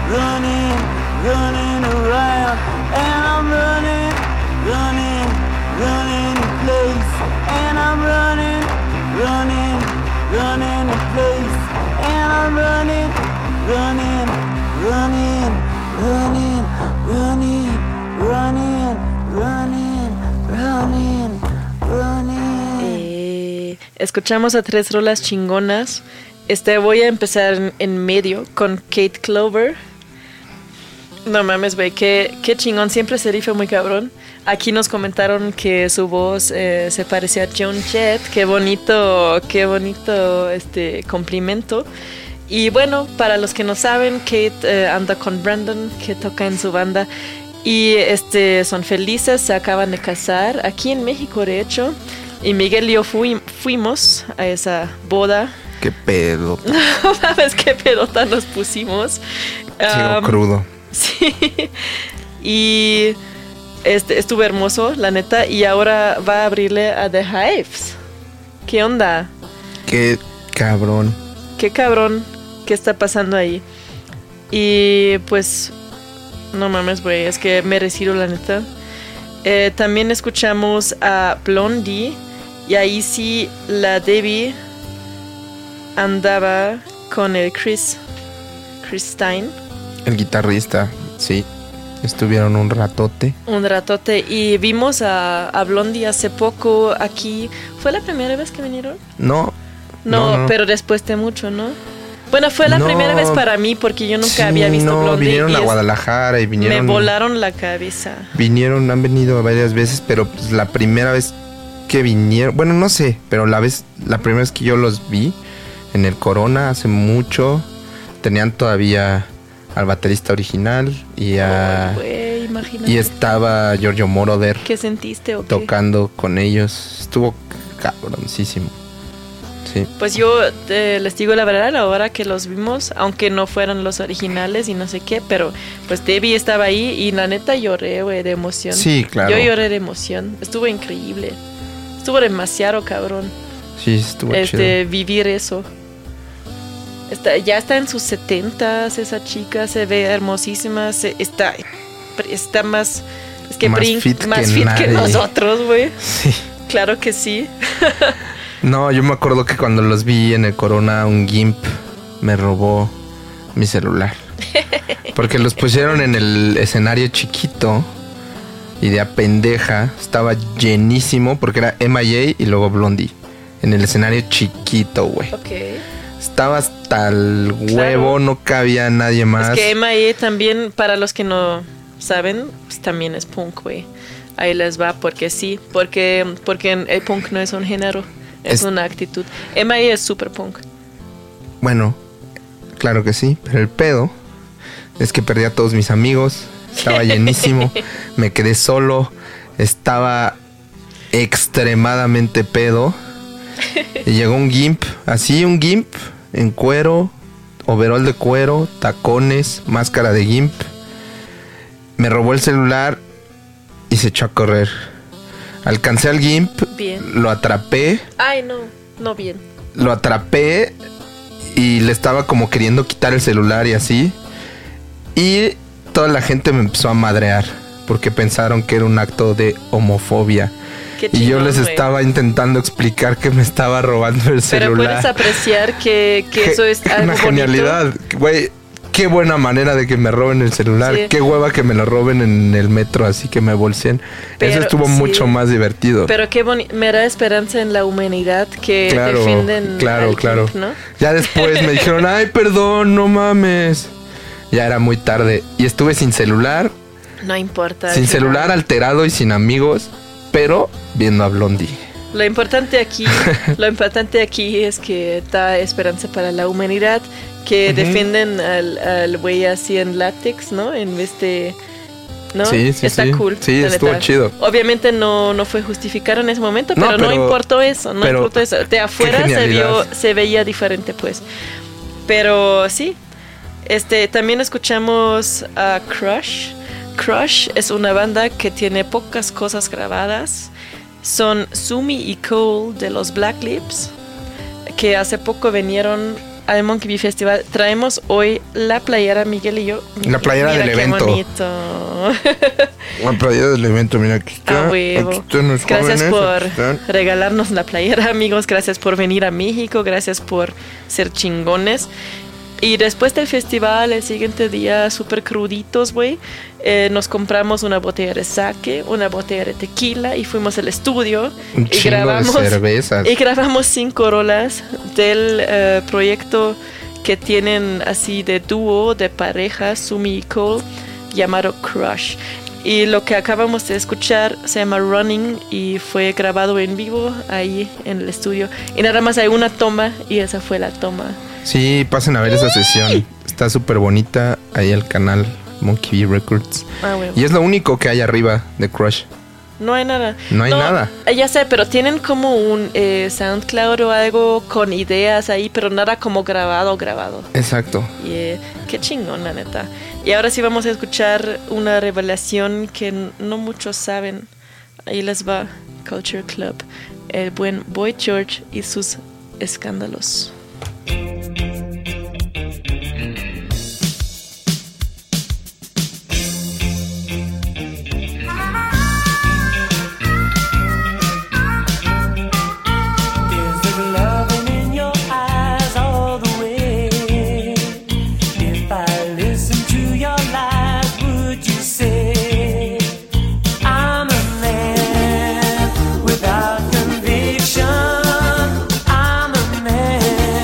around. And I'm running in place. And I'm running in place. And I'm running. Escuchamos a 3 rolas chingonas. Voy a empezar en medio con Kate Clover. No mames, güey, qué chingón. Siempre se rifa muy cabrón. Aquí nos comentaron que su voz se parecía a Joan Jett. Qué bonito complimento. Y bueno, para los que no saben, Kate anda con Brandon, que toca en su banda. Y son felices, se acaban de casar aquí en México, de hecho. Y Miguel y yo fuimos a esa boda. Qué pedo. No mames, qué pedota nos pusimos. Sigo crudo. Sí. Y estuvo hermoso, la neta. Y ahora va a abrirle a The Hives. ¿Qué onda? Qué cabrón. Qué cabrón. ¿Qué está pasando ahí? Y pues, no mames, güey, es que me retiro, la neta. También escuchamos a Blondie. Y ahí sí, la Debbie andaba con el Chris Stein. El guitarrista, sí. Estuvieron un ratote. Y vimos a Blondie hace poco aquí. ¿Fue la primera vez que vinieron? No, pero después de mucho, ¿no? Bueno, fue la primera vez para mí porque yo nunca había visto Blondie. Vinieron a Guadalajara y vinieron. Me volaron la cabeza. Han venido varias veces, pero pues la primera vez que vinieron, bueno, no sé, pero la primera vez que yo los vi en el Corona hace mucho, tenían todavía al baterista original y y estaba Giorgio Moroder. ¿Qué sentiste o qué? Tocando con ellos. Estuvo cabroncísimo. Sí. Pues yo les digo la verdad, ahora que los vimos, aunque no fueran los originales y no sé qué, pero pues Debbie estaba ahí y la neta lloré, güey, de emoción. Sí, claro. Yo lloré de emoción. Estuvo increíble. Estuvo demasiado cabrón. Sí, estuvo chido. Vivir eso. Ya está en sus 70s esa chica, se ve hermosísima, está más... Es que Más fit que nosotros, güey. Sí. Claro que sí. No, yo me acuerdo que cuando los vi en el Corona, un GIMP me robó mi celular. Porque los pusieron en el escenario chiquito y de a pendeja estaba llenísimo porque era MIA y luego Blondie. En el escenario chiquito, güey. Ok. Estaba hasta el huevo, no cabía nadie más. Es que MIA también, para los que no saben, pues también es punk, güey. Ahí les va, porque sí. Porque el punk no es un género, es una actitud. MIA es super punk. Bueno, claro que sí, pero el pedo es que perdí a todos mis amigos. Estaba llenísimo, me quedé solo, estaba extremadamente pedo. Y llegó un GIMP, así un GIMP en cuero, overol de cuero, tacones, máscara de GIMP. Me robó el celular y se echó a correr. Alcancé al GIMP, bien. Lo atrapé. Ay, no bien. Lo atrapé y le estaba como queriendo quitar el celular y así. Y toda la gente me empezó a madrear porque pensaron que era un acto de homofobia. Chingón, y yo les estaba intentando explicar que me estaba robando el celular. Pero puedes apreciar que eso es algo una genialidad, güey. Qué buena manera de que me roben el celular. Sí. Qué hueva que me lo roben en el metro, así que me bolseen. Eso estuvo mucho más divertido. Pero qué bonito. Me da esperanza en la humanidad que defienden. Claro. Punk, ¿no? Ya después me dijeron, ay, perdón, no mames. Ya era muy tarde. Y estuve sin celular. No importa. Sin celular, alterado y sin amigos. Pero viendo a Blondie. Lo importante aquí es que da esperanza para la humanidad, que defienden al güey así en látex, ¿no? En vez de... ¿no? Sí, está cool. Sí, estuvo chido. Obviamente no fue justificado en ese momento, pero no importó eso. No importó eso. De afuera se veía diferente, pues. Pero sí. También escuchamos a Crush. Crush es una banda que tiene pocas cosas grabadas. Son Sumi y Cole de los Black Lips, que hace poco vinieron al Monkey Bee Festival. Traemos hoy la playera, Miguel y yo. La playera del evento. Bonito. La playera del evento, mira, aquí está. Aquí están los Gracias jóvenes, por regalarnos la playera, amigos. Gracias por venir a México. Gracias por ser chingones. Y después del festival, el siguiente día, súper cruditos, güey, nos compramos una botella de sake, una botella de tequila y fuimos al estudio. Un chingo de cervezas. Y grabamos 5 rolas del proyecto que tienen así de dúo, de pareja, Sumi y Cole, llamado Crush. Y lo que acabamos de escuchar se llama Running y fue grabado en vivo ahí en el estudio. Y nada más hay una toma y esa fue la toma. Sí, pasen a ver esa sesión. Está súper bonita. Ahí el canal Monkey Bee Records. Bueno. Y es lo único que hay arriba de Crush. No hay nada. No hay nada. Ya sé, pero tienen como un SoundCloud o algo con ideas ahí, pero nada como grabado. Exacto. Qué chingón, la neta. Y ahora sí vamos a escuchar una revelación que no muchos saben. Ahí les va Culture Club. El buen Boy George y sus escándalos. Without conviction, I'm a man.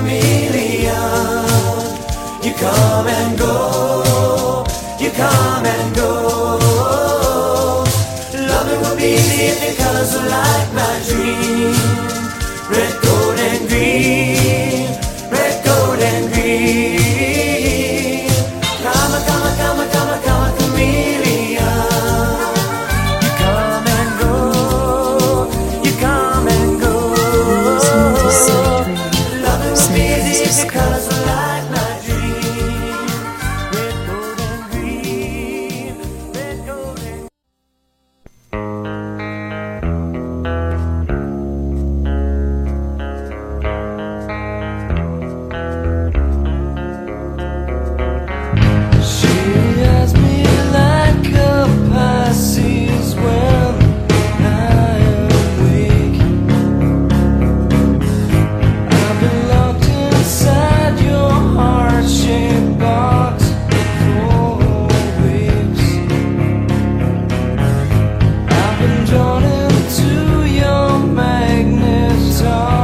chameleon. You come and go, you come and go. Loving will be easy if your colors are like my dream. Red, gold, and green. Red, gold, and green. Come, come, come, come, come, chameleon. You come and go, you come and go. Listening to Silk Radio, Loving will San be easy if your Francisco. colors are like my dream. Red, gold, and green. Red, gold, and She has me like a Pisces when I am weak. I've been locked inside your heart-shaped box for weeks. I've been drawn into your magnet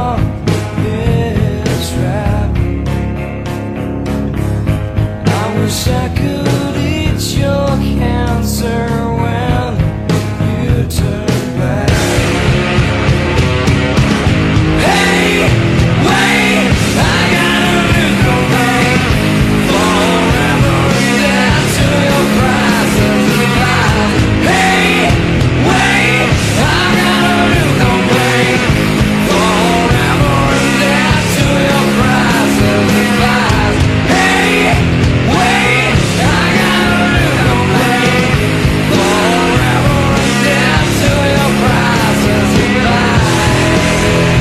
trap. I wish I could eat your cancer when you turn back. Hey, wait, I gotta look away forever and down to your prices of life. Hey, wait, I gotta look away forever and down to your prices of life. Hey, wait, I gotta look away forever and down to your prices of life.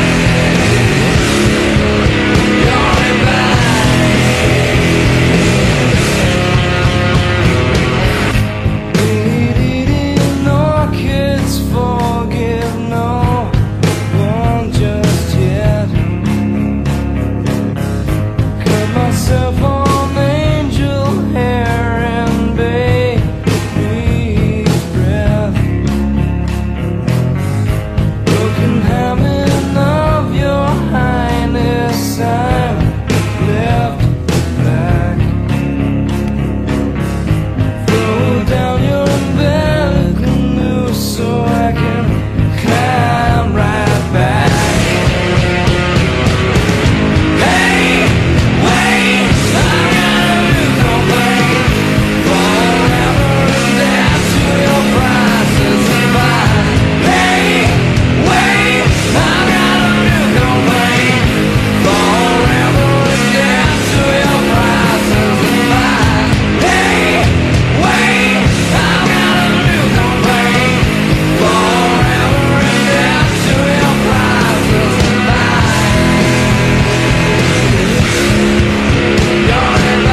You're in Eating orchids, forgive no one just yet. Cut myself on angel hair and baby's breath. Broken habit of your highness, I'm left back. Throw down your umbilical noose so I can climb right back. Hey, wait, I gotta look away forever and down to your prices of life. Hey, wait, I gotta look away forever and down to your prices of life. Hey, wait, I gotta look away forever and down to your prices of life. You're in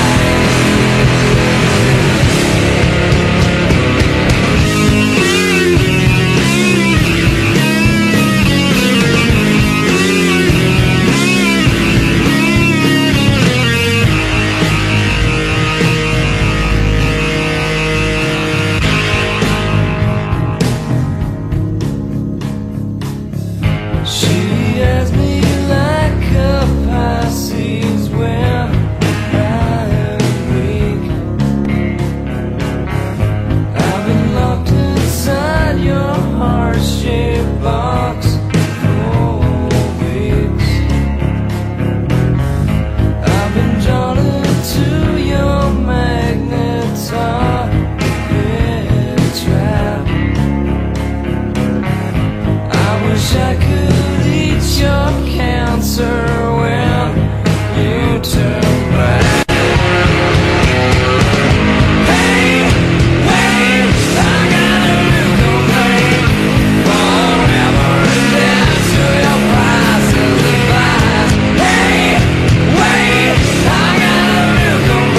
She has me like a Pisces when I am weak. I've been locked inside your heart-shaped box for weeks. I've been drawn into your magnet trap. I wish I could eat your cancer when you turn back. Hey, wait, I gotta look away forever and down to your prices of life. Hey, wait, I gotta look away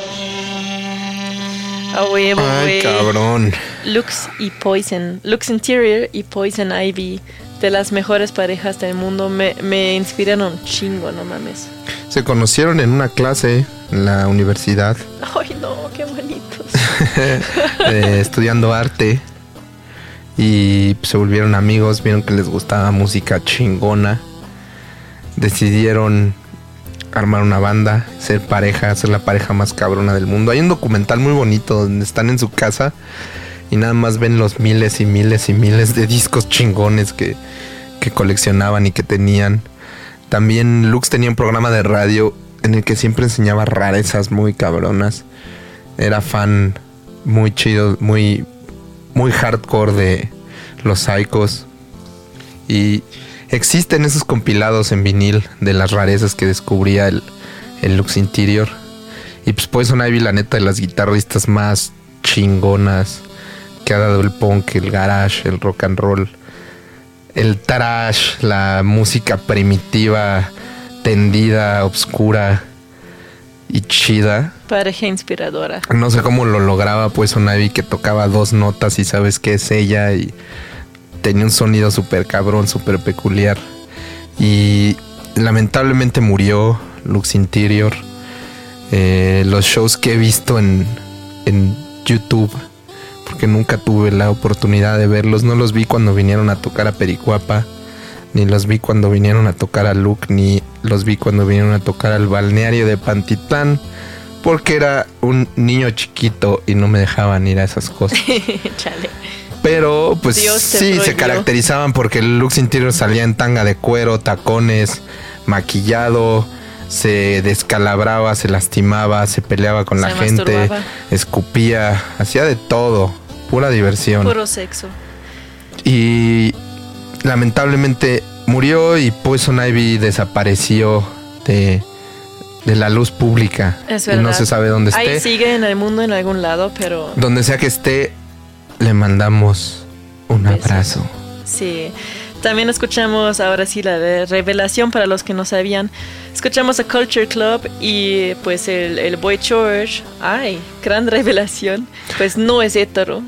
A huevo, Ay, güey. cabrón. Lux Interior y Poison Ivy, de las mejores parejas del mundo, me inspiraron un chingo, no mames. Se conocieron en una clase en la universidad, Ay, no, qué bonitos. estudiando arte. Y pues, se volvieron amigos, vieron que les gustaba música chingona. Decidieron armar una banda, ser pareja, ser la pareja más cabrona del mundo. Hay un documental muy bonito donde están en su casa y nada más ven los miles y miles y miles de discos chingones que coleccionaban y que tenían. También Lux tenía un programa de radio en el que siempre enseñaba rarezas muy cabronas. Era fan muy chido, muy hardcore de los Psychos. Y existen esos compilados en vinil de las rarezas que descubría el Lux Interior. Y pues Poison Ivy, la neta, de las guitarristas más chingonas que ha dado el punk, el garage, el rock and roll, el thrash, la música primitiva, tendida, obscura y chida. Pareja inspiradora. No sé cómo lo lograba Poison Ivy, que tocaba 2 notas y sabes qué es ella, y tenía un sonido súper cabrón, súper peculiar. Y lamentablemente murió Lux Interior. Los shows que he visto en YouTube, porque nunca tuve la oportunidad de verlos, no los vi cuando vinieron a tocar a Pericuapa, ni los vi cuando vinieron a tocar a Luke, ni los vi cuando vinieron a tocar al balneario de Pantitlán, porque era un niño chiquito y no me dejaban ir a esas cosas. Chale. Pero pues Dios te sí, se prohibió. caracterizaban porque el Lux Interior salía en tanga de cuero, tacones, maquillado, se descalabraba, se lastimaba, se peleaba con Se la gente, masturbaba. escupía, hacía de todo, pura diversión. Puro sexo. Y lamentablemente murió y Poison Ivy desapareció de la luz pública. Es Y verdad. no se sabe dónde esté. Ahí sigue en el mundo en algún lado, pero Donde sea que esté, le mandamos un Besos. abrazo. sí. También escuchamos, ahora sí, la de revelación para los que no sabían. Escuchamos a Culture Club y pues el Boy George, ay, gran revelación, pues no es hetero.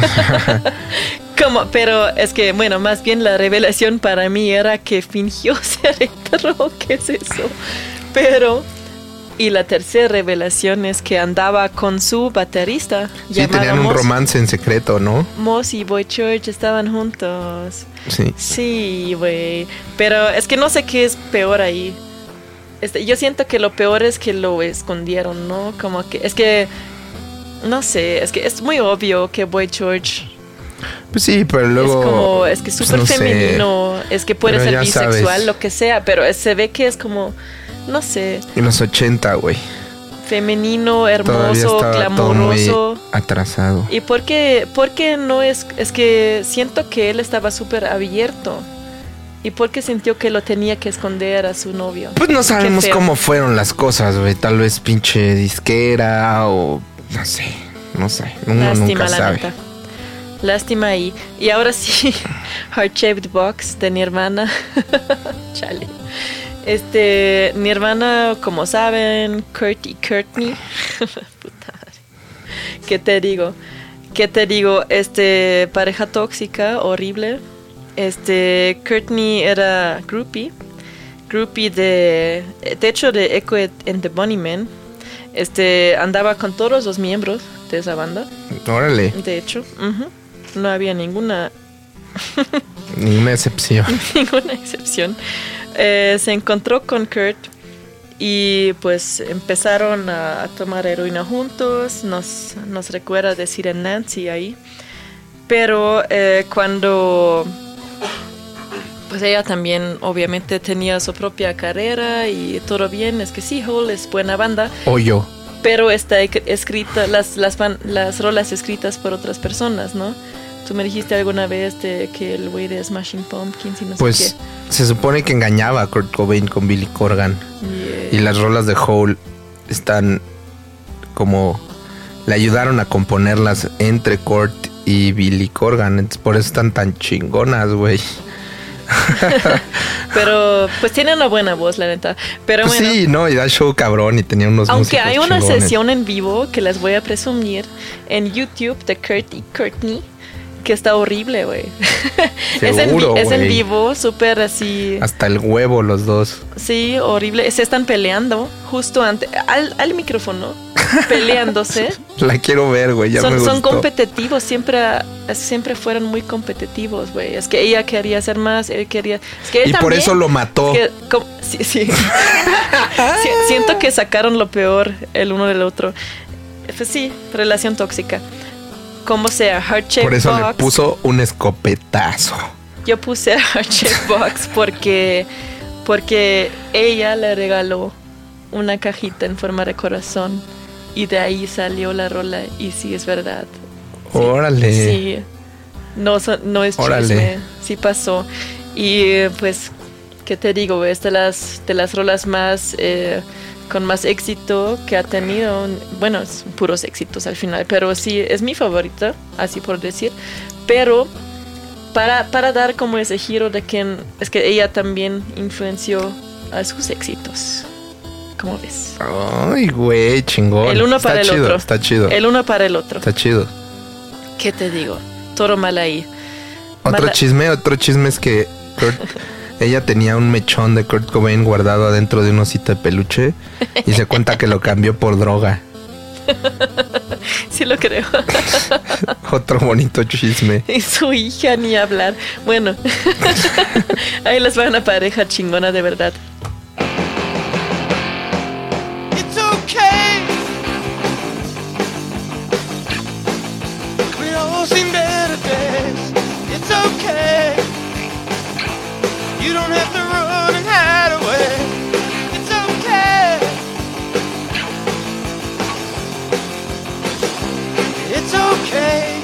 Pero es que, bueno, más bien la revelación para mí era que fingió ser hetero, ¿qué es eso? Pero, y la tercera revelación es que andaba con su baterista. Sí, llamado tenían un Moss. romance en secreto, ¿no? Moss y Boy George estaban juntos. Sí. Sí, güey. Pero es que no sé qué es peor ahí. Yo siento que lo peor es que lo escondieron, ¿no? Como que es que no sé, es que es muy obvio que Boy George Pues sí, pero luego... es que es pues súper no sé. femenino, es que puede Pero ser ya bisexual, sabes. lo que sea, pero se ve que es como, no sé, En los 80, güey. femenino, Todavía hermoso, estaba todo muy glamoroso. atrasado. ¿Y por qué no es que siento que él estaba súper abierto? ¿Y por qué sintió que lo tenía que esconder a su novio? Pues no sabemos Qué feo. cómo fueron las cosas, güey. Tal vez pinche disquera o... No sé. Uno Lástima, nunca la sabe. neta. Lástima ahí. Y ahora sí, Heart Shaped Box de Nirvana. Chale. Nirvana, como saben, Kurt y Courtney. Puta madre. ¿Qué te digo? Pareja tóxica, horrible. Courtney era groupie de hecho de Echo and the Bunnymen. Andaba con todos los miembros de esa banda. Órale. De hecho, no había ninguna excepción. ninguna excepción. Se encontró con Kurt y pues empezaron a tomar heroína juntos. Nos recuerda decir a Nancy ahí. Pero cuando pues ella también obviamente tenía su propia carrera y todo bien, es que sí, Hole es buena banda. O yo. Pero está escrita, las rolas escritas por otras personas, ¿no? Tú me dijiste alguna vez que el güey de Smashing Pumpkins y no Pues sé se supone que engañaba a Kurt Cobain con Billy Corgan. qué. Y las rolas de Hole están como... Le ayudaron a componerlas entre Kurt y Billy Corgan. Entonces, por eso están tan chingonas, güey. Pero pues tiene una buena voz, la neta. Pero Pues bueno, sí, no, y da show cabrón y tenía unos aunque músicos hay una chingones. sesión en vivo que les voy a presumir en YouTube de Kurt y Courtney, que está horrible, güey. Seguro, es en güey. vivo, súper así. Hasta el huevo los dos. Sí, horrible. Se están peleando justo al micrófono, peleándose. La quiero ver, güey, ya me Son gustó. competitivos, siempre fueron muy competitivos, güey. Es que ella quería hacer más, él quería... Es que él Y por también, eso lo mató. sí. Siento que sacaron lo peor el uno del otro. Pues sí, relación tóxica. Como sea, Heart Shape Por eso le Box. puso un escopetazo. Yo puse Heart Shape Box porque ella le regaló una cajita en forma de corazón y de ahí salió la rola y sí es verdad. Sí, Órale. Sí. No es Órale. chisme, sí pasó. Y pues, ¿qué te digo? Es de las rolas más con más éxito que ha tenido. Bueno, es puros éxitos al final, pero sí, es mi favorita, así por decir. Pero para dar como ese giro de que es que ella también influenció a sus éxitos. ¿Cómo ves? Ay, güey, chingón. El uno Está para el chido, otro. Está chido. El uno para el otro. Está chido. ¿Qué te digo? Todo mal ahí. Otro chisme es que ella tenía un mechón de Kurt Cobain guardado adentro de un osito de peluche y se cuenta que lo cambió por droga. Sí lo creo. Otro bonito chisme. Y su hija ni hablar. Bueno, ahí les va una pareja chingona de verdad. It's okay. We all seen better days. It's okay. You don't have to run and hide away. It's okay. It's okay.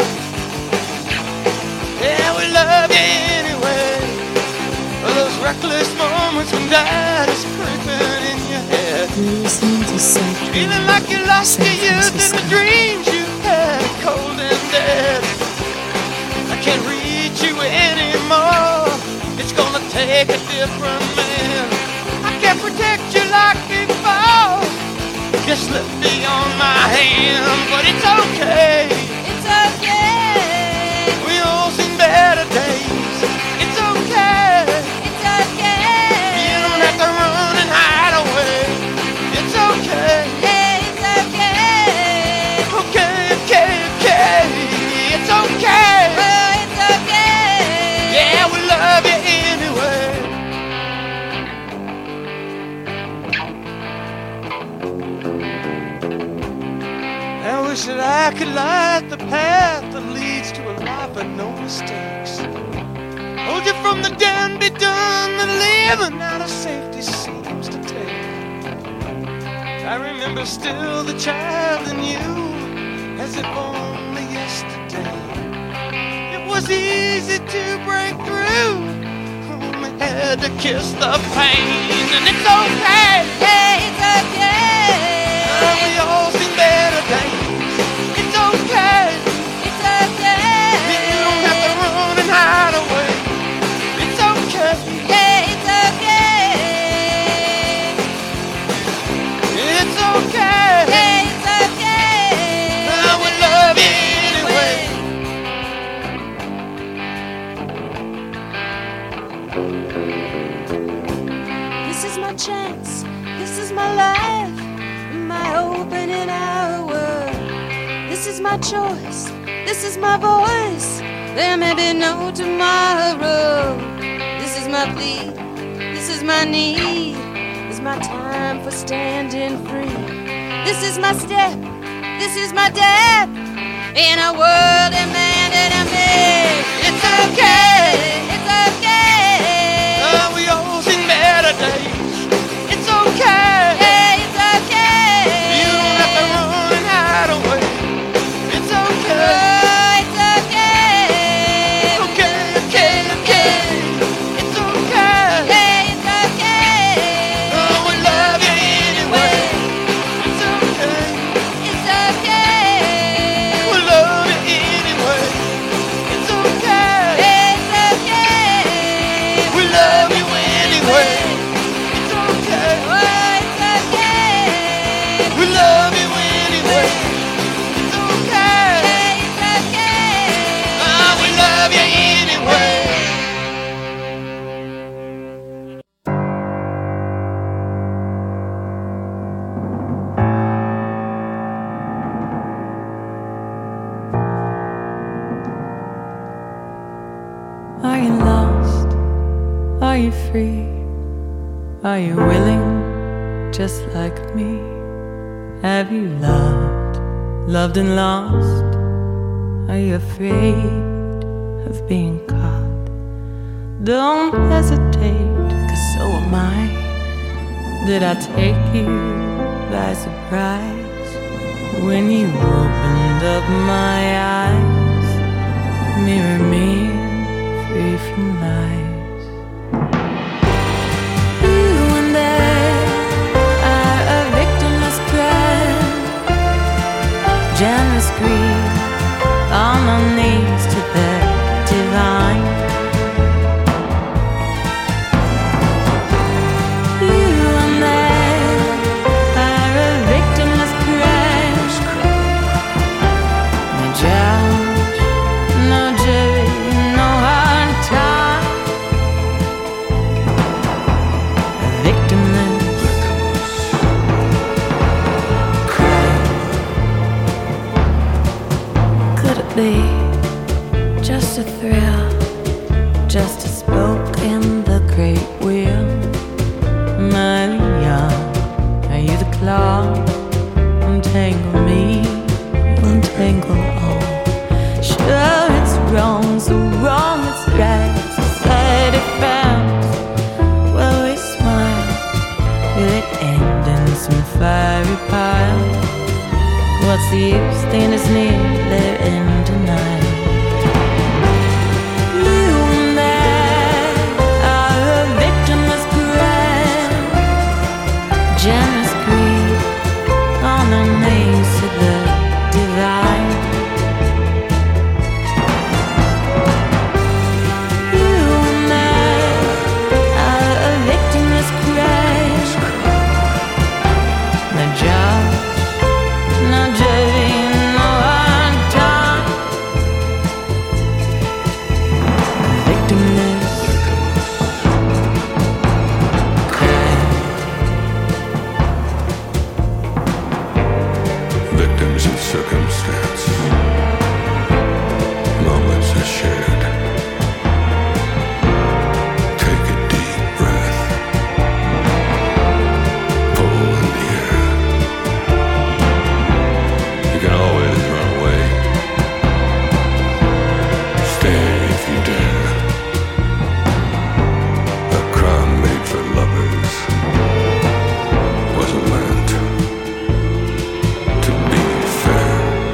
Yeah, we love you anyway. For those reckless moments when doubt is creeping in your head. Feeling like you lost your youth and the dreams you had are cold and dead. I can't reach you anymore. It's gonna take a different man. I can't protect you like before. Just slip beyond my hand, but it's okay. It's okay. We all seen better days. It's okay. It's okay. You don't have to run and hide away. It's okay. Yeah, it's okay. Okay. It's okay. Oh, it's okay. Yeah, we love you anyway. I wish that I could light the path that leads to a life of no mistakes. Hold you from the done-be-done that living out of safety seems to take. I remember still the child in you as if only yesterday. It was easy to break through, only had to kiss the pain. And it's okay, yeah, it's okay. We all seen better days. It's okay, it's okay. You don't have to run and hide away. It's okay, yeah, it's okay. It's okay, yeah, it's okay. I will love you anyway. This is my chance, this is my life, my opening hour. This is my choice, this is my voice. There may be no tomorrow. This is my plea, this is my need. This is my time for standing free. This is my step, this is my death. In a world demanded of me. It's okay, it's okay. We all seen better days. It's okay. Hey, it's okay. You don't have to run and hide away. It's okay. Oh, it's okay. Okay. It's okay. Hey, it's okay. Oh, we love you anyway. It's okay. It's okay. We love you anyway. Are you free? Are you willing, just like me? Have you loved and lost? Are you afraid of being caught? Don't hesitate, 'cause so am I. Did I take you by surprise when you opened up my eyes? Mirror me, free from lies. You and I are a victimless crime. Generous greed, on my knees to the divine. You and I are a victimless crime. No judge, no jury, no hard time. Victimless crime. Could it be just a thrill, just a spoke in the great wheel? Am I the young? Are you the claw? Untangle me, untangle all. Sure, it's wrong, so wrong it's right. Society found. Well, we smile. Will it end in some fiery pile? What's the use? Staying as near, let it end tonight. You and I are a victimless crime. Generous greed, on our knees to the divine. You and I are a victimless crime. No judge, no jury, no hard time. Victimless crime. Victims of circumstance, moments are shared. Take a deep breath, pull in the air. You can always run away. Stay if you dare. A crime made for lovers wasn't meant to be fair.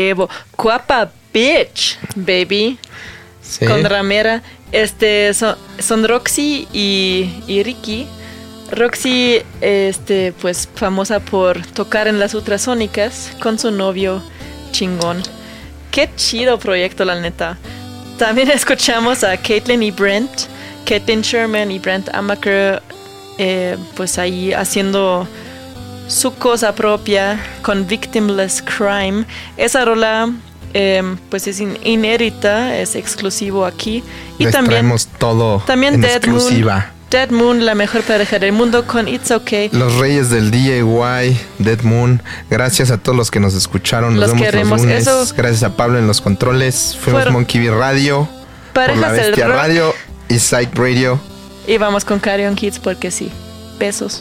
huevo. Guapa bitch, baby. Sí. Con ramera. Son Roxy y Ricky. Roxy, pues famosa por tocar en las ultrasónicas con su novio chingón. Qué chido proyecto, la neta. También escuchamos a Caitlyn y Brent, Caitlyn Sherman y Brent Amaker, pues ahí haciendo su cosa propia con Victimless Crime. Esa rola pues es inédita, es exclusivo aquí. Y Les traemos todo en exclusiva. Dead Moon, la mejor pareja del mundo con It's Okay. Los reyes del DIY, Dead Moon. Gracias a todos los que nos escucharon. Nos vemos queremos. los lunes. Eso. Gracias a Pablo en los controles. Fuimos Monkey Bee Radio, por La Bestia Radio y Psych Radio. Y vamos con Carrion Kids porque sí. Besos.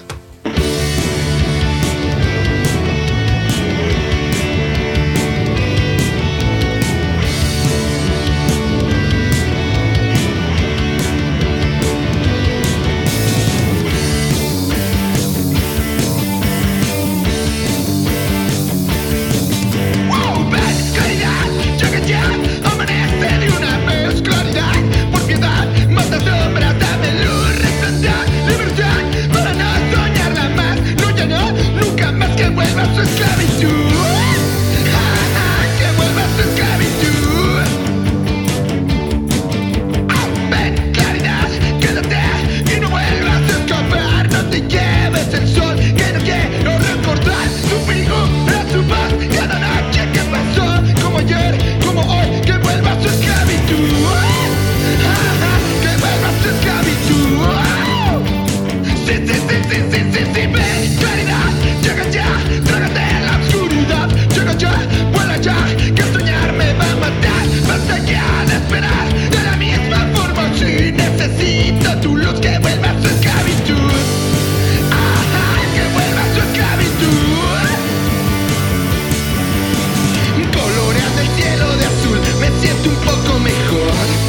Coloreando el cielo de azul, me siento un poco mejor.